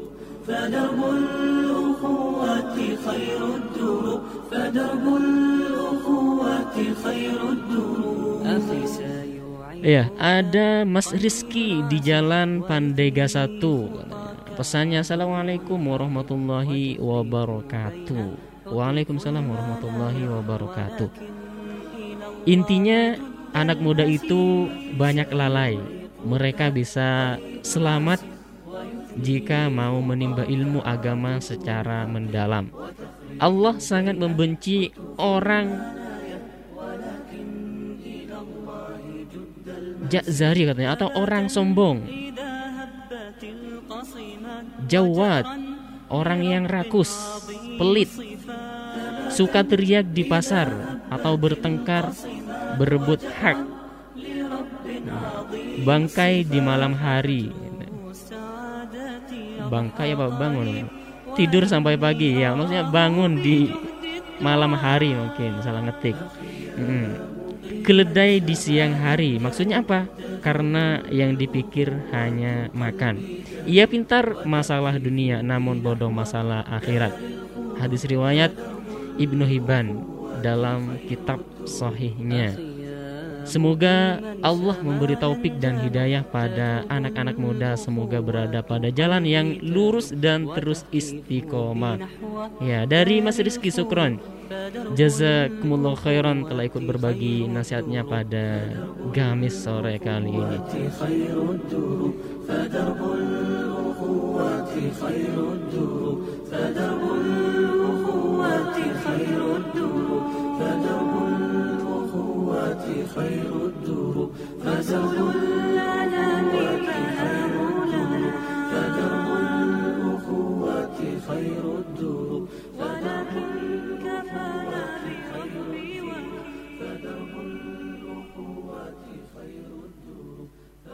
Ya, ada Mas Rizky di Jalan Pandega satu. Pesannya, assalamualaikum warahmatullahi wabarakatuh. Waalaikumsalam warahmatullahi wabarakatuh. Intinya anak muda itu banyak lalai. Mereka bisa selamat jika mau menimba ilmu agama secara mendalam. Allah sangat membenci orang jazari katanya, atau orang sombong, jawad, orang yang rakus, pelit, suka teriak di pasar atau bertengkar, berebut hak, bangkai di malam hari. Bangkai apa bangun? Tidur sampai pagi, ya maksudnya bangun di malam hari, mungkin salah ngetik. hmm. Keledai di siang hari, maksudnya apa? Karena yang dipikir hanya makan. Ia pintar masalah dunia, namun bodoh masalah akhirat. Hadis riwayat Ibnu Hibban dalam kitab sahihnya. Semoga Allah memberi taufik dan hidayah pada anak-anak muda. Semoga berada pada jalan yang lurus dan terus istiqomah. Ya, dari Mas Rizky, syukron. Jazakumullah khairan telah ikut berbagi nasihatnya pada Gamis sore kali ini. خير الدروب فدرب الأنام خير الدروب فدرب الأخوة خير الدروب ولكن كفانا بحبي فدرب الأخوة خير الدروب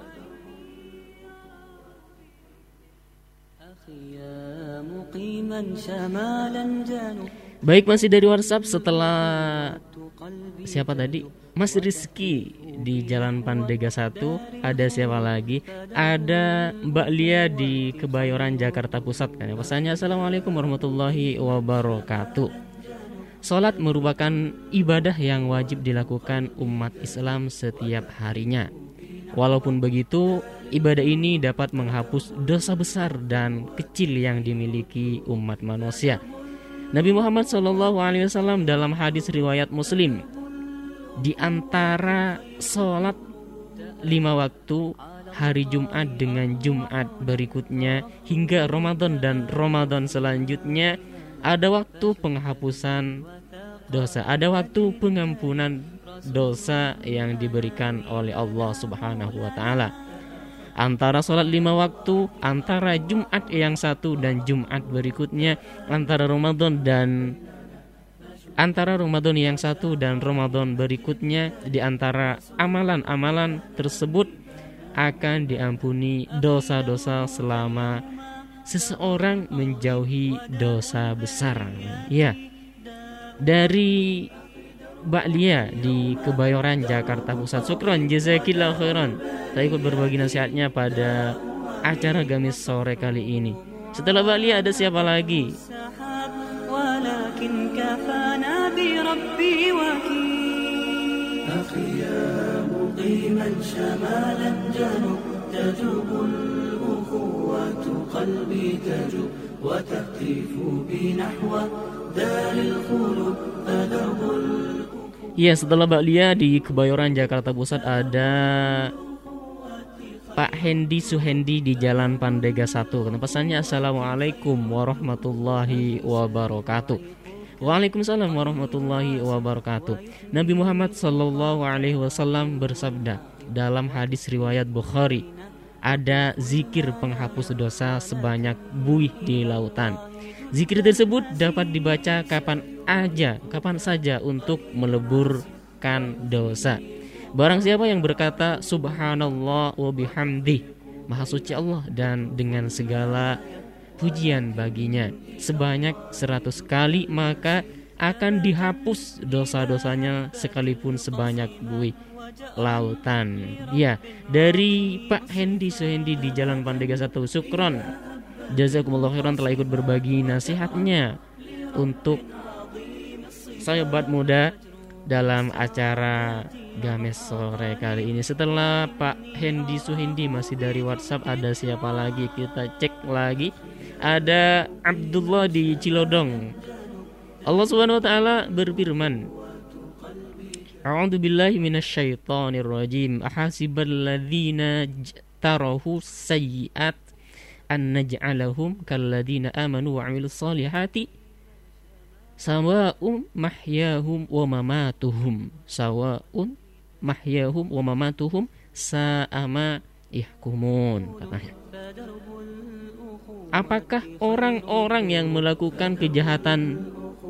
أخي يا مقيما شمالا جنوب. Baik, masih dari WhatsApp. Setelah siapa tadi? Mas Rizky di Jalan Pandega satu. Ada siapa lagi? Ada Mbak Lia di Kebayoran, Jakarta Pusat. Pesannya, assalamualaikum warahmatullahi wabarakatuh. Salat merupakan ibadah yang wajib dilakukan umat Islam setiap harinya. Walaupun begitu, ibadah ini dapat menghapus dosa besar dan kecil yang dimiliki umat manusia. Nabi Muhammad shallallahu alaihi wasallam dalam hadis riwayat Muslim, di antara sholat lima waktu hari Jumat dengan Jumat berikutnya hingga Ramadan dan Ramadan selanjutnya, ada waktu penghapusan dosa, ada waktu pengampunan dosa yang diberikan oleh Allah Subhanahu wa taala. Antara sholat lima waktu, antara Jumat yang satu dan Jumat berikutnya, antara Ramadan dan antara Ramadan yang satu dan Ramadan berikutnya, di antara amalan-amalan tersebut akan diampuni dosa-dosa selama seseorang menjauhi dosa besar. Ya, dari Mbak Lia di Kebayoran, Jakarta Pusat. Syukron, jazakillah khairan. Saya ikut berbagi nasihatnya pada acara Gamis sore kali ini. Setelah Mbak Lia ada siapa lagi? قلبي تجو وتهتف بي نحو دار الخلود فدرب. Ya, setelah Mbak Lia di Kebayoran Jakarta Pusat ada Pak Hendi Suhendi di Jalan Pandega satu. Pesannya Assalamualaikum warahmatullahi wabarakatuh. Waalaikumsalam warahmatullahi wabarakatuh. Nabi Muhammad sallallahu alaihi wasallam bersabda dalam hadis riwayat Bukhari, ada zikir penghapus dosa sebanyak buih di lautan. Zikir tersebut dapat dibaca kapan aja, kapan saja untuk meleburkan dosa. Barang siapa yang berkata subhanallah wa bihamdih, maha suci Allah dan dengan segala pujian baginya, sebanyak seratus kali, maka akan dihapus dosa-dosanya sekalipun sebanyak buih lautan. Ya, dari Pak Hendi Suhendi di Jalan Pandega satu. Syukron, jazakumullah khairan telah ikut berbagi nasihatnya untuk sahabat muda dalam acara Games sore kali ini. Setelah Pak Hendi Suhendi masih dari WhatsApp, ada siapa lagi? Kita cek lagi. Ada Abdullah di Cilodong. Allah Subhanahu wa taala berfirman, A'udzu billahi minasyaitonir rajim. Ahasibal ladzina tarahu sayyi'at an naj'alahum kalladzina amanu wa 'amilus solihati sawa'un mahyahum wa mamatuhum sawa'un mahyahum wa mamatuhum sa'ama yahkumun, katanya. Apakah orang-orang yang melakukan kejahatan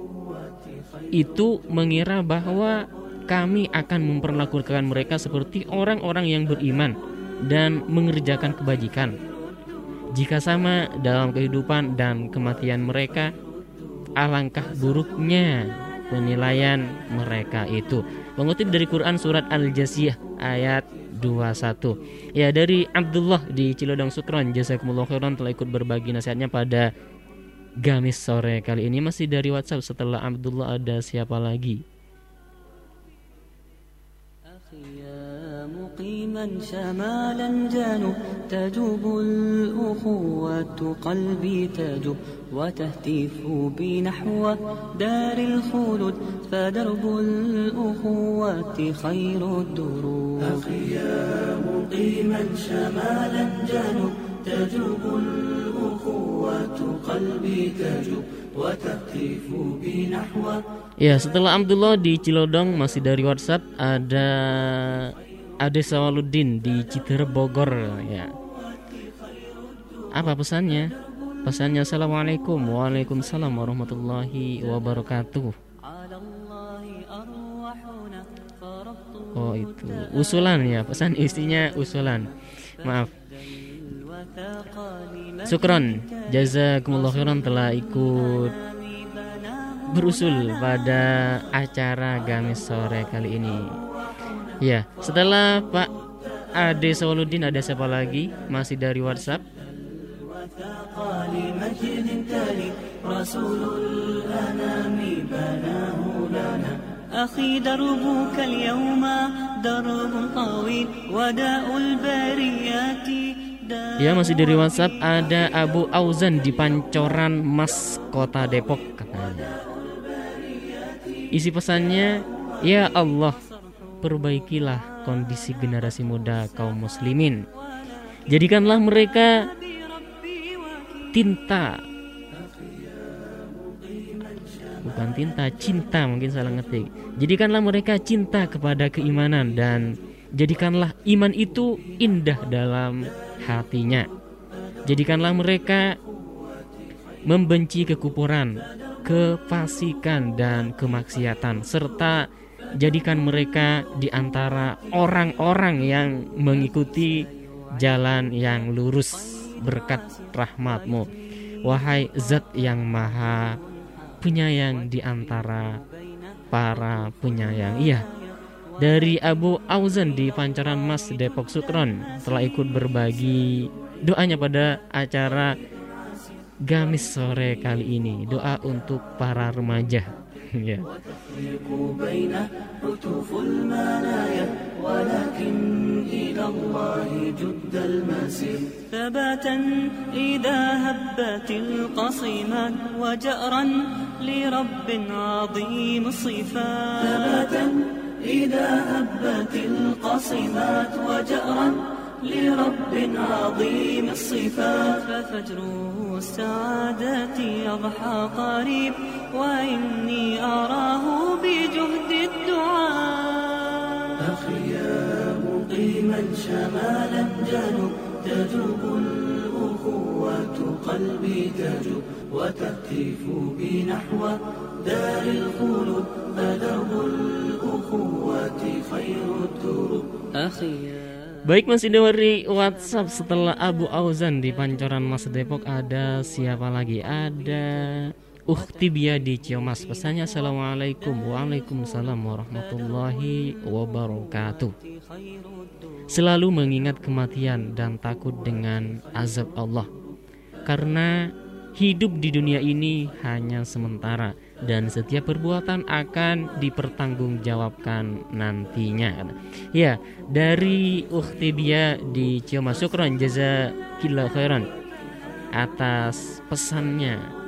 itu mengira bahwa kami akan memperlakukan mereka seperti orang-orang yang beriman dan mengerjakan kebajikan? Jika sama dalam kehidupan dan kematian mereka, alangkah buruknya penilaian mereka itu. Mengutip dari Quran surat Al-Jasiyah ayat dua puluh satu. Ya, dari Abdullah di Cilodong. Syukron, jazakumullah khairan telah ikut berbagi nasihatnya pada Gamis sore kali ini. Masih dari WhatsApp. Setelah Abdullah ada siapa lagi? مقيما شمالا جانب تجوب الأخوة قلبي تجوب وتهتف بي نحو دار الخلود فدرب الأخوة خير الدروب. أخيا مقيما شمالا جانب تجوب الأخوة قلبي تجوب وتهتف بي نحو. Ya, setelah Abdullah di Cilodong masih dari WhatsApp ada Ade Sawaludin di Citerep Bogor, ya. Apa pesannya? Pesannya Assalamualaikum. Waalaikumsalam warahmatullahi wabarakatuh. Oh, itu usulan ya, pesan istrinya usulan. Maaf. Syukron, jazakumullah khairan telah ikut berusul pada acara Gamis sore kali ini. Ya, setelah Pak Ade Sawaludin ada siapa lagi? Masih dari WhatsApp. Ya, masih dari WhatsApp ada Abu Auzan di Pancoran Mas, Kota Depok, katanya. Isi pesannya, ya Allah, perbaikilah kondisi generasi muda kaum muslimin. Jadikanlah mereka tinta, bukan tinta, cinta, mungkin salah ngetik. Jadikanlah mereka cinta kepada keimanan dan jadikanlah iman itu indah dalam hatinya. Jadikanlah mereka membenci kekufuran, kefasikan dan kemaksiatan, serta jadikan mereka di antara orang-orang yang mengikuti jalan yang lurus berkat rahmat-Mu. Wahai Zat yang Maha Penyayang di antara para penyayang. Iya, dari Abu Auzan di Pancoran Mas, Depok. Syukron telah ikut berbagi doanya pada acara Gamis sore kali ini. Doa untuk para remaja Ya. وتفرق بين عطوف المنايا ولكن إلى الله جد المسير ثباتا إذا هبت القصيمات وجأرا لرب عظيم الصفات ثباتا إذا هبت القصيمات وجأرا لرب عظيم الصفات ففجر السعادة يضحى قريب وإني أراه بجهد الدعاء أخي يا مقيما شمالا جنوب تجوب الأخوة قلبي تجوب وتهتف بي نحو دار الخلود فدرب الأخوة خير الدروب أخي. Baik, masih dari WhatsApp. Setelah Abu Auzan di Pancoran Mas Depok, ada siapa lagi? Ada Ukhti Bia di Ciamas. Pesannya Assalamualaikum. Waalaikumsalam warahmatullahi wabarakatuh. Selalu mengingat kematian dan takut dengan azab Allah, karena hidup di dunia ini hanya sementara dan setiap perbuatan akan dipertanggungjawabkan nantinya. Ya, dari Ukhti Bia di Ciamas, syukran jazakillah khairan atas pesannya.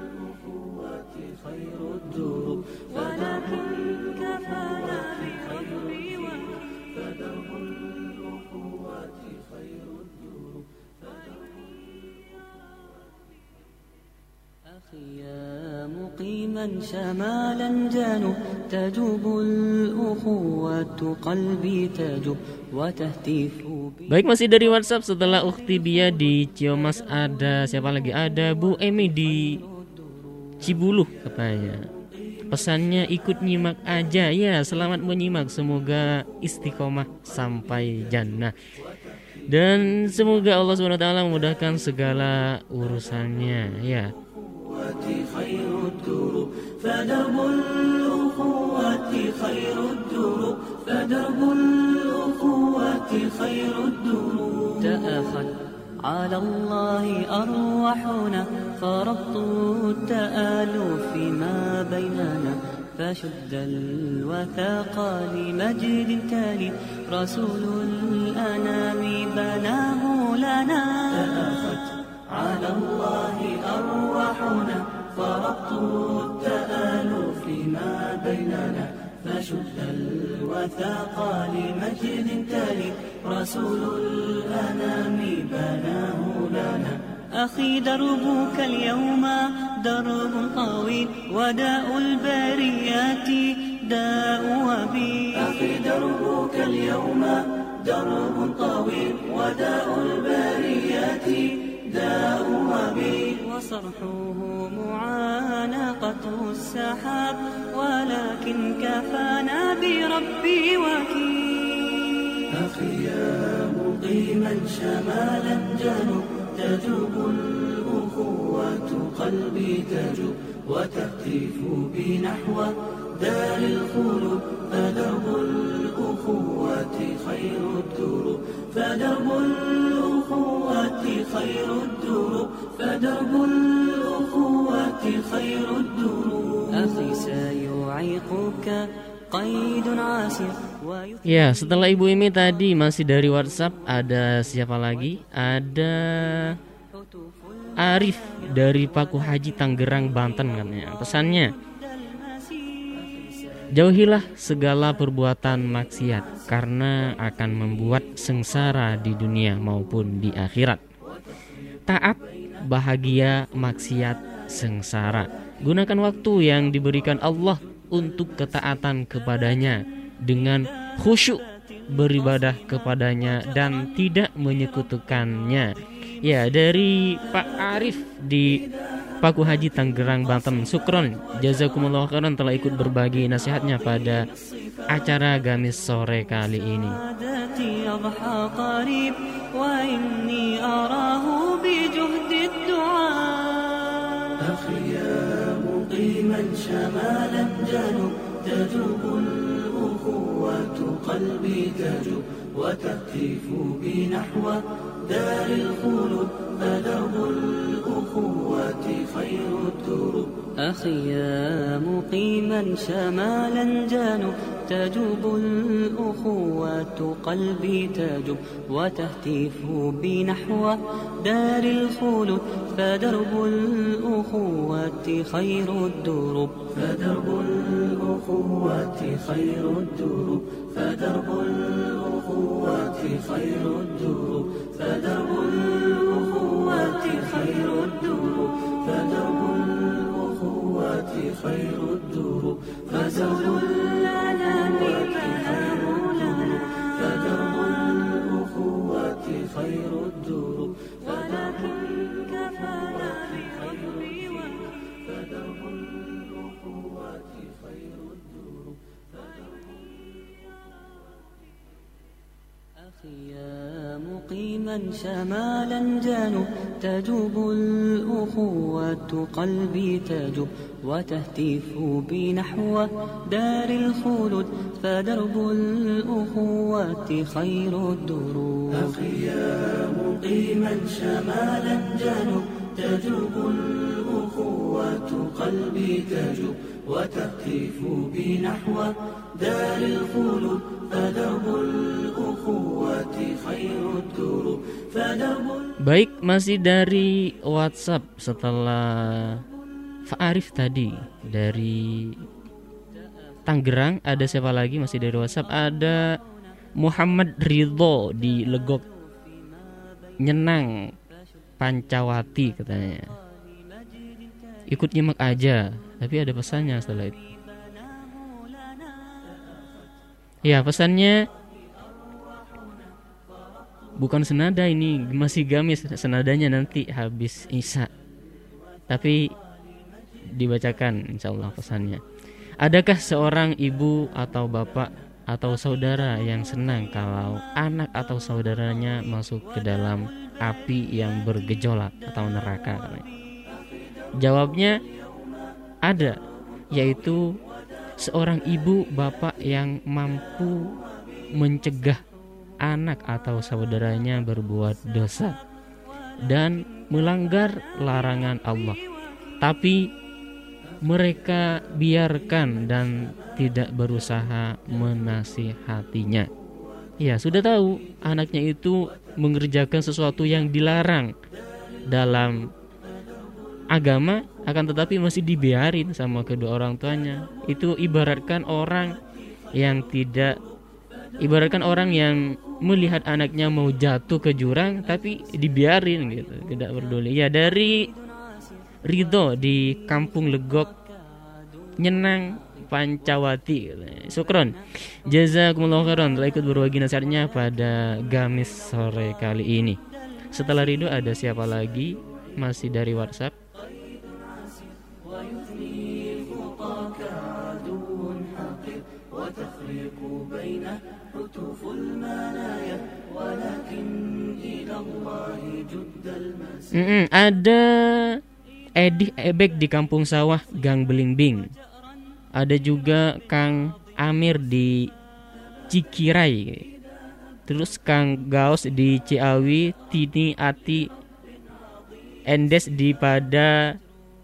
يا مقيما شمالا جنوب تجوب الأخوة قلبي تجوب وتهتف. Baik, masih dari WhatsApp. Setelah Ukhti Bia di Ciamas, ada siapa lagi? Ada Bu Emi di Cibuluh katanya. Pesannya ikut nyimak aja. Ya, selamat menyimak. Semoga istiqomah sampai jannah. Dan semoga Allah subhanahu wa taala memudahkan segala urusannya. Ya. خير الدروب فدرب الأخوة خير الدروب فدرب الأخوة خير الدروب تأخذ على الله أرواحنا فربط التآلف ما بيننا فشد الوثاق لمجد تالي رسول الأنام بناه لنا تأخذ على الله أرواحنا فربط التآلف ما بيننا فشد الوثاق لمجد تالي رسول الأنام بناه لنا أخي دربك اليوم درب طويل وداء البريات داء وبيل أخي دربك اليوم درب طويل وداء البريات داء وبيل وصرحه معانقة السحاب ولكن كفانا بربي وكيل أخي يا مقيما شمالا جنوب تجوب الأخوة قلبي تجوب وتهتف بي نحو دار الخلود فدرب الأخوة خير الدروب فدرب الأخوة خير الدروب فدرب الأخوة خير الدروب أخي سيعيقك قيد عاسر. Ya, setelah Ibu Imi tadi masih dari WhatsApp, ada siapa lagi? Ada Arif dari Paku Haji Tangerang, Banten katanya. Pesannya, jauhilah segala perbuatan maksiat karena akan membuat sengsara di dunia maupun di akhirat. Taat, bahagia, maksiat, sengsara. Gunakan waktu yang diberikan Allah untuk ketaatan kepadanya dengan khusyuk beribadah kepadanya dan tidak menyekutukannya. Ya, dari Pak Arif di Paku Haji Tangerang, Banten. Syukron jazakumullah khairan telah ikut berbagi nasihatnya pada acara Gamis sore kali ini. قلبي تجوب وتهتف بي نحو دار الخلود فدرب الأخوة خير الدروب أخي يا مقيما شمالا جانب تجوب الأخوة قلبي تجوب وتهتف بي نحو دار الخلود فدرب الأخوة خير الدروب فدرب الأخوة خير الدروب فدرب الأخوة خير الدروب فدرب الأخوة خير الدروب فدرب الأخوة خير الدروب فدرب الأنام خير الدروب فدرب الأخوة خير الدروب ولكن كفانا بخير فدرب الأخوة خير الدروب أخي يا مقيما شمالا جانب تجوب الأخوة قلبي تجوب وتهتف بي نحو دار الخلود فدرب الأخوة خير الدروب أخي يا مقيما شمالا جانب تجوب الأخوة قلبي تجوب وتهتف بي نحو دار الخلود فدرب الأخوة خير الدروب فدرب. Baik, masih dari WhatsApp setelah Fa'arif tadi dari Tangerang. Ada siapa lagi masih dari WhatsApp? Ada Muhammad Ridho di Legok Nyenang Pancawati katanya. Ikut nyimak aja, tapi ada pesannya setelah itu. Ya, pesannya bukan senada, ini masih gamis senadanya, nanti habis Isya. Tapi dibacakan insyaallah pesannya. Adakah seorang ibu atau bapak atau saudara yang senang kalau anak atau saudaranya masuk ke dalam api yang bergejolak atau neraka? Jawabnya ada, yaitu seorang ibu bapak yang mampu mencegah anak atau saudaranya berbuat dosa dan melanggar larangan Allah, tapi mereka biarkan dan tidak berusaha menasihatinya. Ya, sudah tahu anaknya itu mengerjakan sesuatu yang dilarang dalam agama, akan tetapi masih dibiarin sama kedua orang tuanya. Itu ibaratkan orang yang tidak ibaratkan orang yang melihat anaknya mau jatuh ke jurang tapi dibiarin gitu, tidak peduli. Ya, dari Ridho di Kampung Legok Nyenang Pancawati. Syukron, jazakumullah khairan telah ikut berbagi nasihatnya pada Gamis sore kali ini. Setelah Ridho ada siapa lagi? Masih dari WhatsApp. Mm-mm, ada Edi Ebek di Kampung Sawah Gang Belimbing. Ada juga Kang Amir di Cikirai. Terus Kang Gaus di Ciawi, Tini Ati Endes di pada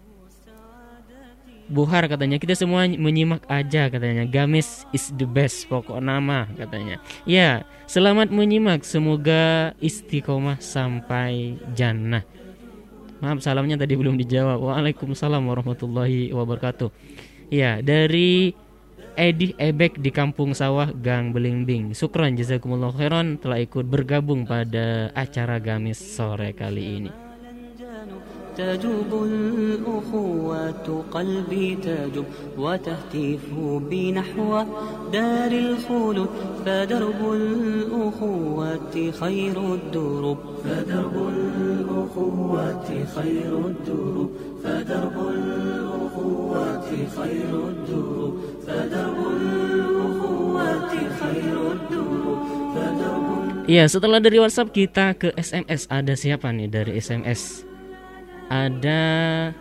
Buhar katanya. Kita semua menyimak aja katanya. Gamis is the best, pokok nama katanya. Ya, selamat menyimak, semoga istiqomah sampai jannah. Maaf, salamnya tadi belum dijawab. Waalaikumsalam warahmatullahi wabarakatuh. Ya, dari Edi Ebek di Kampung Sawah Gang Belimbing. Syukran jazakumullah khairan telah ikut bergabung pada acara Gamis sore kali ini. تجوب الأخوة قلبي تجوب وتهتف بي نحو دار الخلود فدرب الأخوة خير الدروب فدرب الأخوة خير الدروب فدرب الأخوة خير الدروب فدرب الأخوة خير الدروب فدرب. Iya, setelah dari WhatsApp kita ke S M S. Ada siapa nih dari S M S? Ada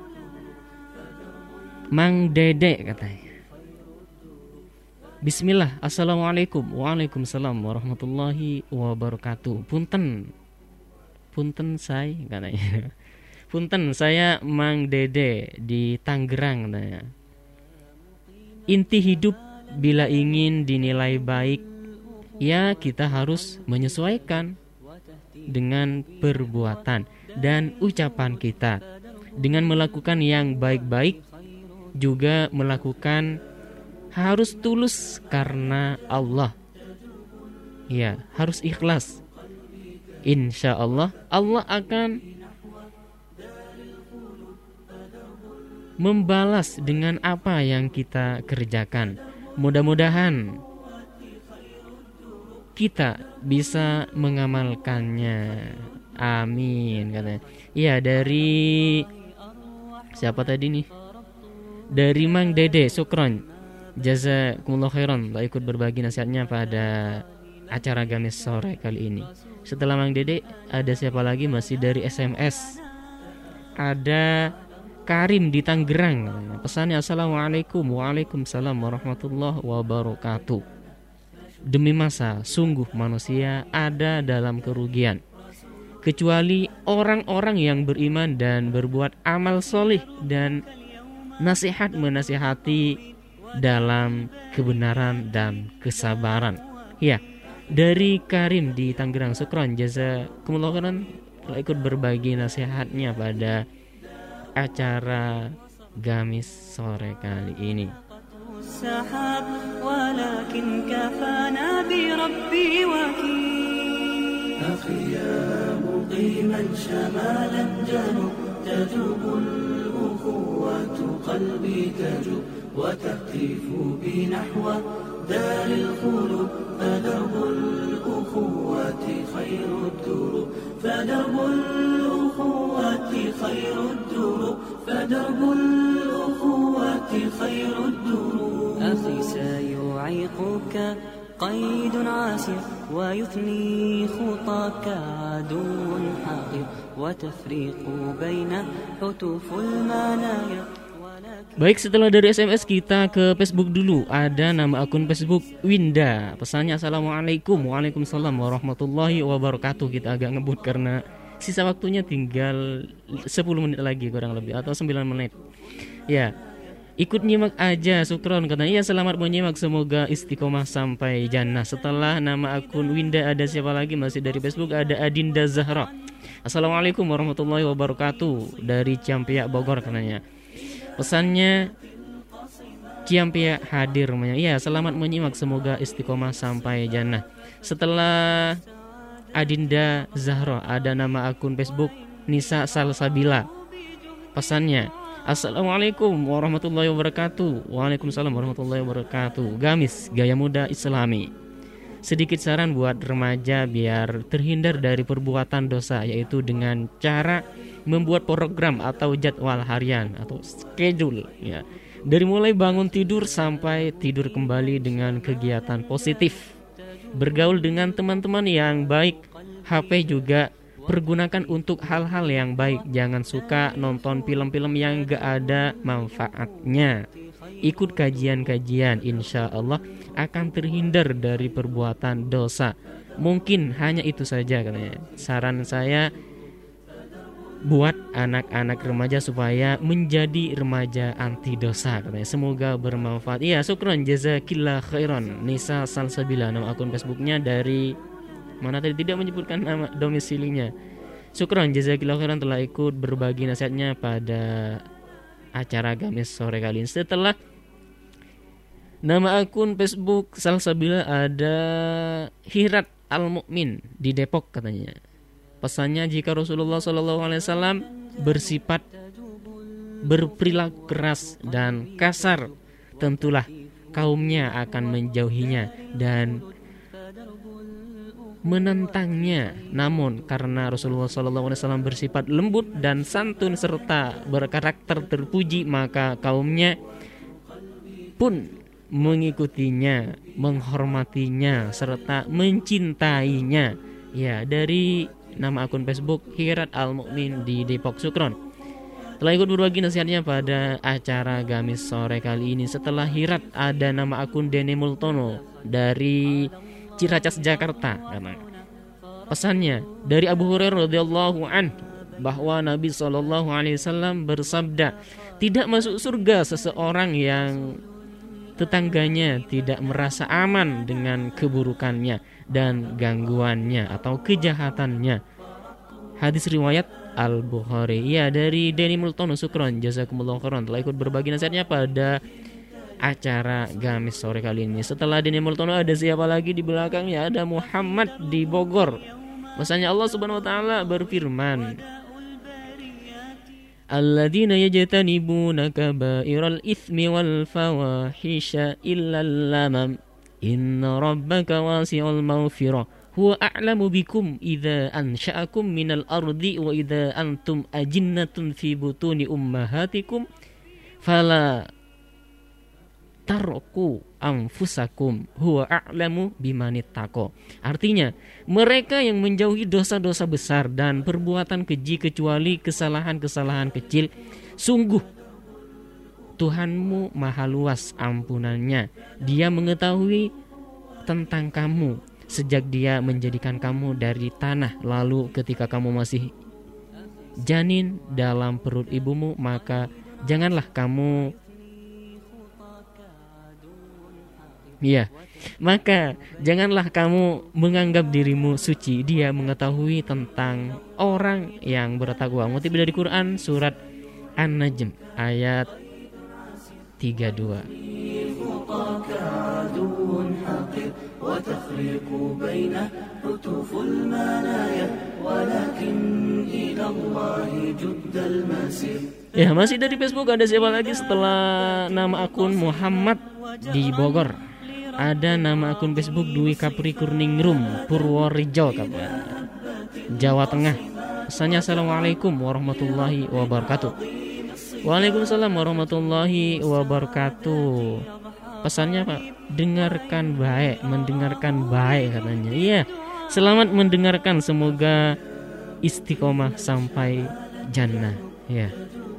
Mang Dede katanya. Bismillah, assalamualaikum. Waalaikumsalam warahmatullahi wabarakatuh. Punten, punten say katanya. Punten, saya Mang Dede di Tangerang katanya. Inti hidup bila ingin dinilai baik, ya kita harus menyesuaikan dengan perbuatan dan ucapan kita. Dengan melakukan yang baik-baik, juga melakukan harus tulus karena Allah. Ya, harus ikhlas. Insya Allah, Allah akan membalas dengan apa yang kita kerjakan. Mudah-mudahan kita bisa mengamalkannya. Amin katanya. Iya, dari siapa tadi nih? Dari Mang Dede, syukron. Jazakumullah khairan telah ikut berbagi nasihatnya pada acara Gamis sore kali ini. Setelah Mang Dede, ada siapa lagi? Masih dari S M S. Ada Karim di Tangerang. Pesannya assalamualaikum. Waalaikumsalam warahmatullahi wabarakatuh. Demi masa, sungguh manusia ada dalam kerugian, kecuali orang-orang yang beriman dan berbuat amal solih dan nasihat menasihati dalam kebenaran dan kesabaran. Ya, dari Karim di Tangerang, syukran jazakumullah khairan telah ikut berbagi nasihatnya pada acara Gamis sore kali ini. وتهتف بنحو دار الخلود فدرب الأخوة خير الدروب فدرب الأخوة خير الدروب فدرب الأخوة خير الدروب أخي سيعيقك قيد عاسر ويثني خطاك عدو حاقد وتفريق بين حتوف المنايا. Baik, setelah dari S M S kita ke Facebook dulu. Ada nama akun Facebook Winda. Pesannya assalamualaikum. Waalaikumsalam warahmatullahi wabarakatuh. Kita agak ngebut karena sisa waktunya tinggal sepuluh menit lagi kurang lebih, atau sembilan menit. Ya, ikut nyimak aja, syukron. Katanya, iya selamat menyimak, semoga istiqomah sampai jannah. Setelah nama akun Winda ada siapa lagi? Masih dari Facebook ada Adinda Zahra. Assalamualaikum warahmatullahi wabarakatuh. Dari Ciampia Bogor katanya. Pesannya Ciampia hadir. Iya, selamat menyimak, semoga istiqomah sampai jannah. Setelah Adinda Zahra ada nama akun Facebook Nisa Salsabila. Pesannya assalamualaikum warahmatullahi wabarakatuh. Waalaikumsalam warahmatullahi wabarakatuh. Gamis gaya muda Islami. Sedikit saran buat remaja biar terhindar dari perbuatan dosa, yaitu dengan cara membuat program atau jadwal harian atau schedule ya. Dari mulai bangun tidur sampai tidur kembali dengan kegiatan positif. Bergaul dengan teman-teman yang baik. H P juga pergunakan untuk hal-hal yang baik. Jangan suka nonton film-film yang gak ada manfaatnya. Ikut kajian-kajian, insya Allah akan terhindar dari perbuatan dosa. Mungkin hanya itu saja katanya. Saran saya buat anak-anak remaja supaya menjadi remaja anti dosa katanya. Semoga bermanfaat. Iya, syukron jazakillah khairan. Nisa Salsabila nama akun Facebooknya. Dari mana tadi, tidak menyebutkan nama domisilinya. Syukron jazakillah khairan telah ikut berbagi nasihatnya pada acara Gamis sore kali ini. Setelah nama akun Facebook Salsabila ada Hirat Al-Mu'min di Depok katanya. Pesannya, jika Rasulullah shallallahu alaihi wasallam bersifat berperilaku keras dan kasar, tentulah kaumnya akan menjauhinya dan menentangnya. Namun karena Rasulullah shallallahu alaihi wasallam bersifat lembut dan santun serta berkarakter terpuji, maka kaumnya pun mengikutinya, menghormatinya serta mencintainya. Ya, dari nama akun Facebook Hirat Al-Mu'min di Depok, syukron telah ikut berbagi nasihatnya pada acara Gamis sore kali ini. Setelah Hirat ada nama akun Dene Multono dari Ciracas, Jakarta. Pesannya dari Abu Hurairah radhiyallahu an, bahwa Nabi shallallahu alaihi wasallam bersabda, tidak masuk surga seseorang yang tetangganya tidak merasa aman dengan keburukannya dan gangguannya atau kejahatannya. Hadis riwayat Al-Bukhari. Ya, dari Denny Multono, syukron jazakumullah khairan telah ikut berbagi nasihatnya pada acara Gamis sore kali ini. Setelah Denny Multono ada siapa lagi di belakangnya? Ada Muhammad di Bogor. Masanya Allah Subhanahu wa taala berfirman, alladzina yajtanibuna kaba'iral itsmi wal fawahisha illal lamam inna rabbaka wasi'ul maghfirah huwa a'lamu bikum idza ansha'akum minal ardi wa idza antum ajinnatun fi butuni ummahatikum fala tarku anfusakum huwa a'lamu bimanittaqo. Artinya, mereka yang menjauhi dosa-dosa besar dan perbuatan keji kecuali kesalahan-kesalahan kecil, sungguh Tuhanmu maha luas ampunannya. Dia mengetahui tentang kamu sejak dia menjadikan kamu dari tanah, lalu ketika kamu masih janin dalam perut ibumu, maka janganlah kamu Ya, maka janganlah kamu menganggap dirimu suci. Dia mengetahui tentang orang yang bertakwa. Ngutip dari Quran surat An-Najm ayat tiga puluh dua. Ya, masih dari Facebook ada siapa lagi setelah nama akun Muhammad di Bogor? Ada nama akun Facebook Dwi Kapri Kurningrum Purworejo, Jawa Tengah. Pesannya assalamualaikum warahmatullahi wabarakatuh. Waalaikumsalam warahmatullahi wabarakatuh. Pesannya Pak, dengarkan baik, mendengarkan baik katanya. Iya, selamat mendengarkan, semoga istiqomah sampai jannah. Ya.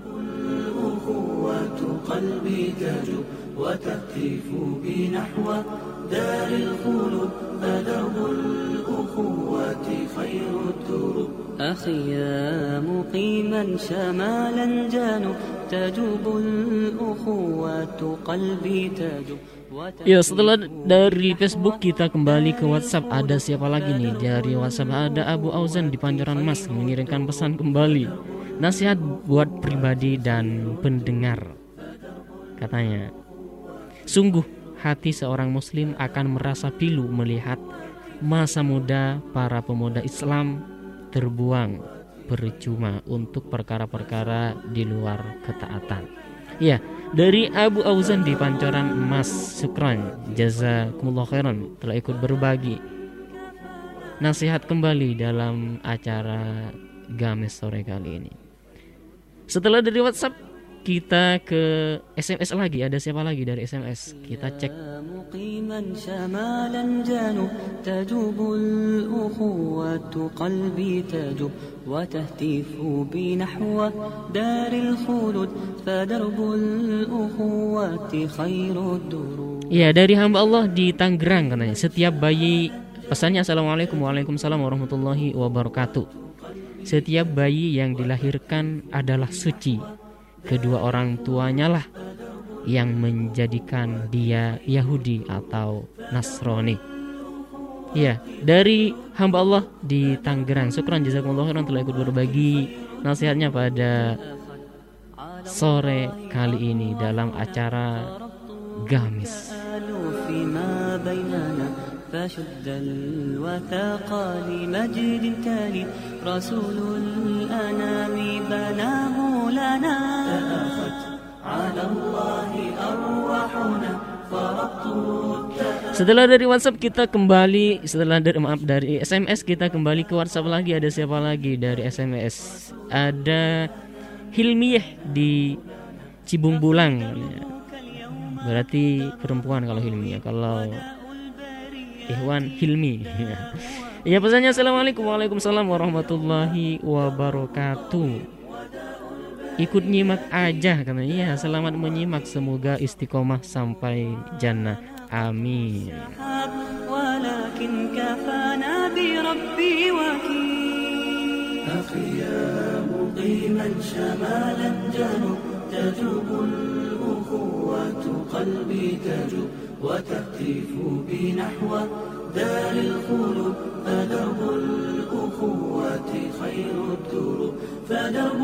وتهتف بنحو دار الخلود فدرب الأخوة خير الدروب أخي يا مقيما شمالا جانب تجوب الأخوة قلبي تجوب. Ya, setelah dari Facebook kita kembali ke WhatsApp. Ada siapa lagi nih? Dari WhatsApp ada Abu Auzan di Pancoran Mas mengirimkan pesan kembali. Nasihat buat pribadi dan pendengar. Katanya, sungguh hati seorang muslim akan merasa pilu melihat masa muda para pemuda Islam terbuang percuma untuk perkara-perkara di luar ketaatan. Ya, dari Abu Auzan di Pancoran Emas, syukran jazakumullah khairan telah ikut berbagi nasihat kembali dalam acara Gamis sore kali ini. Setelah dari WhatsApp kita ke S M S lagi. Ada siapa lagi dari S M S? Kita cek. Ya, dari hamba Allah di Tangerang katanya. Setiap bayi, pesannya assalamualaikum waalaikumsalam warahmatullahi wabarakatuh. Setiap bayi yang dilahirkan adalah suci. Kedua orang tuanya lah yang menjadikan dia Yahudi atau Nasrani. Ya, dari hamba Allah di Tangerang, syukran jazakumullah khairan telah ikut berbagi nasihatnya pada sore kali ini dalam acara Gamis. فشد الوثاق لمجد تالي رسول الأنام بناه لنا تأخت على الله أرواحنا Setelah dari WhatsApp kita kembali, setelah dari maaf dari S M S kita kembali ke WhatsApp lagi. Ada siapa lagi dari S M S? Ada Hilmiyah di Cibung Bulang. Berarti perempuan kalau Hilmiyah. Kalau Ikhwan Hilmi. Ya, pesannya assalamualaikum waalaikumsalam warahmatullahi wabarakatuh. Ikut nyimak aja katanya. Iya, selamat menyimak, semoga istiqomah sampai jannah. Amin. Walakin kafana bi rabbi wakil. قيما شمالا جنوب تجوب الأخوة قلبي تجوب وتهتف بنحو دار الخلود فدرب الأخوة خير الدروب فدرب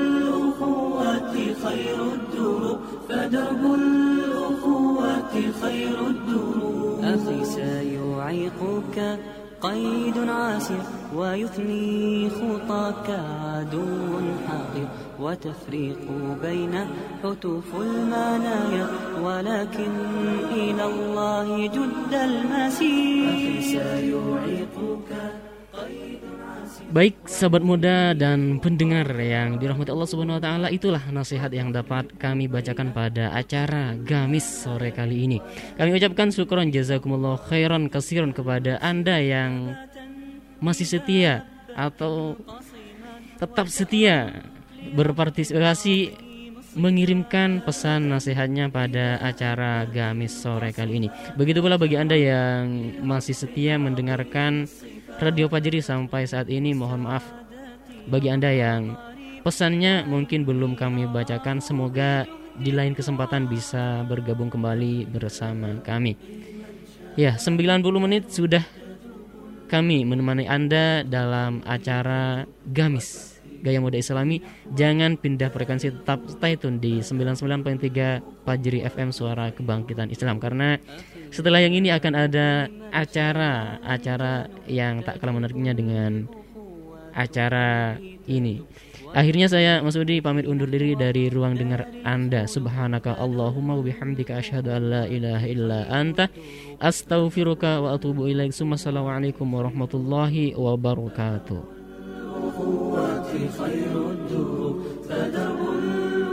الأخوة خير الدروب فدرب الأخوة خير الدروب أخي سيعيقك قيد عاسر ويثني خطاك عدو حاقد وتفريق بين حتوف المنايا ولكن إلى الله جد المسير أخي سيعيقك قيد عاسر. Baik sahabat muda dan pendengar yang dirahmati Allah Subhanahu wa taala, itulah nasihat yang dapat kami bacakan pada acara Gamis sore kali ini. Kami ucapkan syukron jazakumullah khairan katsiran kepada Anda yang masih setia atau tetap setia berpartisipasi mengirimkan pesan nasihatnya pada acara Gamis sore kali ini. Begitu pula bagi Anda yang masih setia mendengarkan Radio Fajri sampai saat ini, mohon maaf bagi Anda yang pesannya mungkin belum kami bacakan. Semoga di lain kesempatan bisa bergabung kembali bersama kami. Ya, sembilan puluh menit sudah kami menemani Anda dalam acara Gamis Gaya Muda Islami. Jangan pindah frekuensi, tetap stay tune di sembilan puluh sembilan koma tiga Fajri F M, Suara Kebangkitan Islam. Karena setelah yang ini akan ada acara-acara yang tak kalah menariknya dengan acara ini. Akhirnya saya Mas Udi pamit undur diri dari ruang dengar Anda. Subhanaka Allahumma wa bihamdika asyhadu an la ilaha illa anta astaghfiruka wa atubu ilaik. Assalamualaikum warahmatullahi wabarakatuh.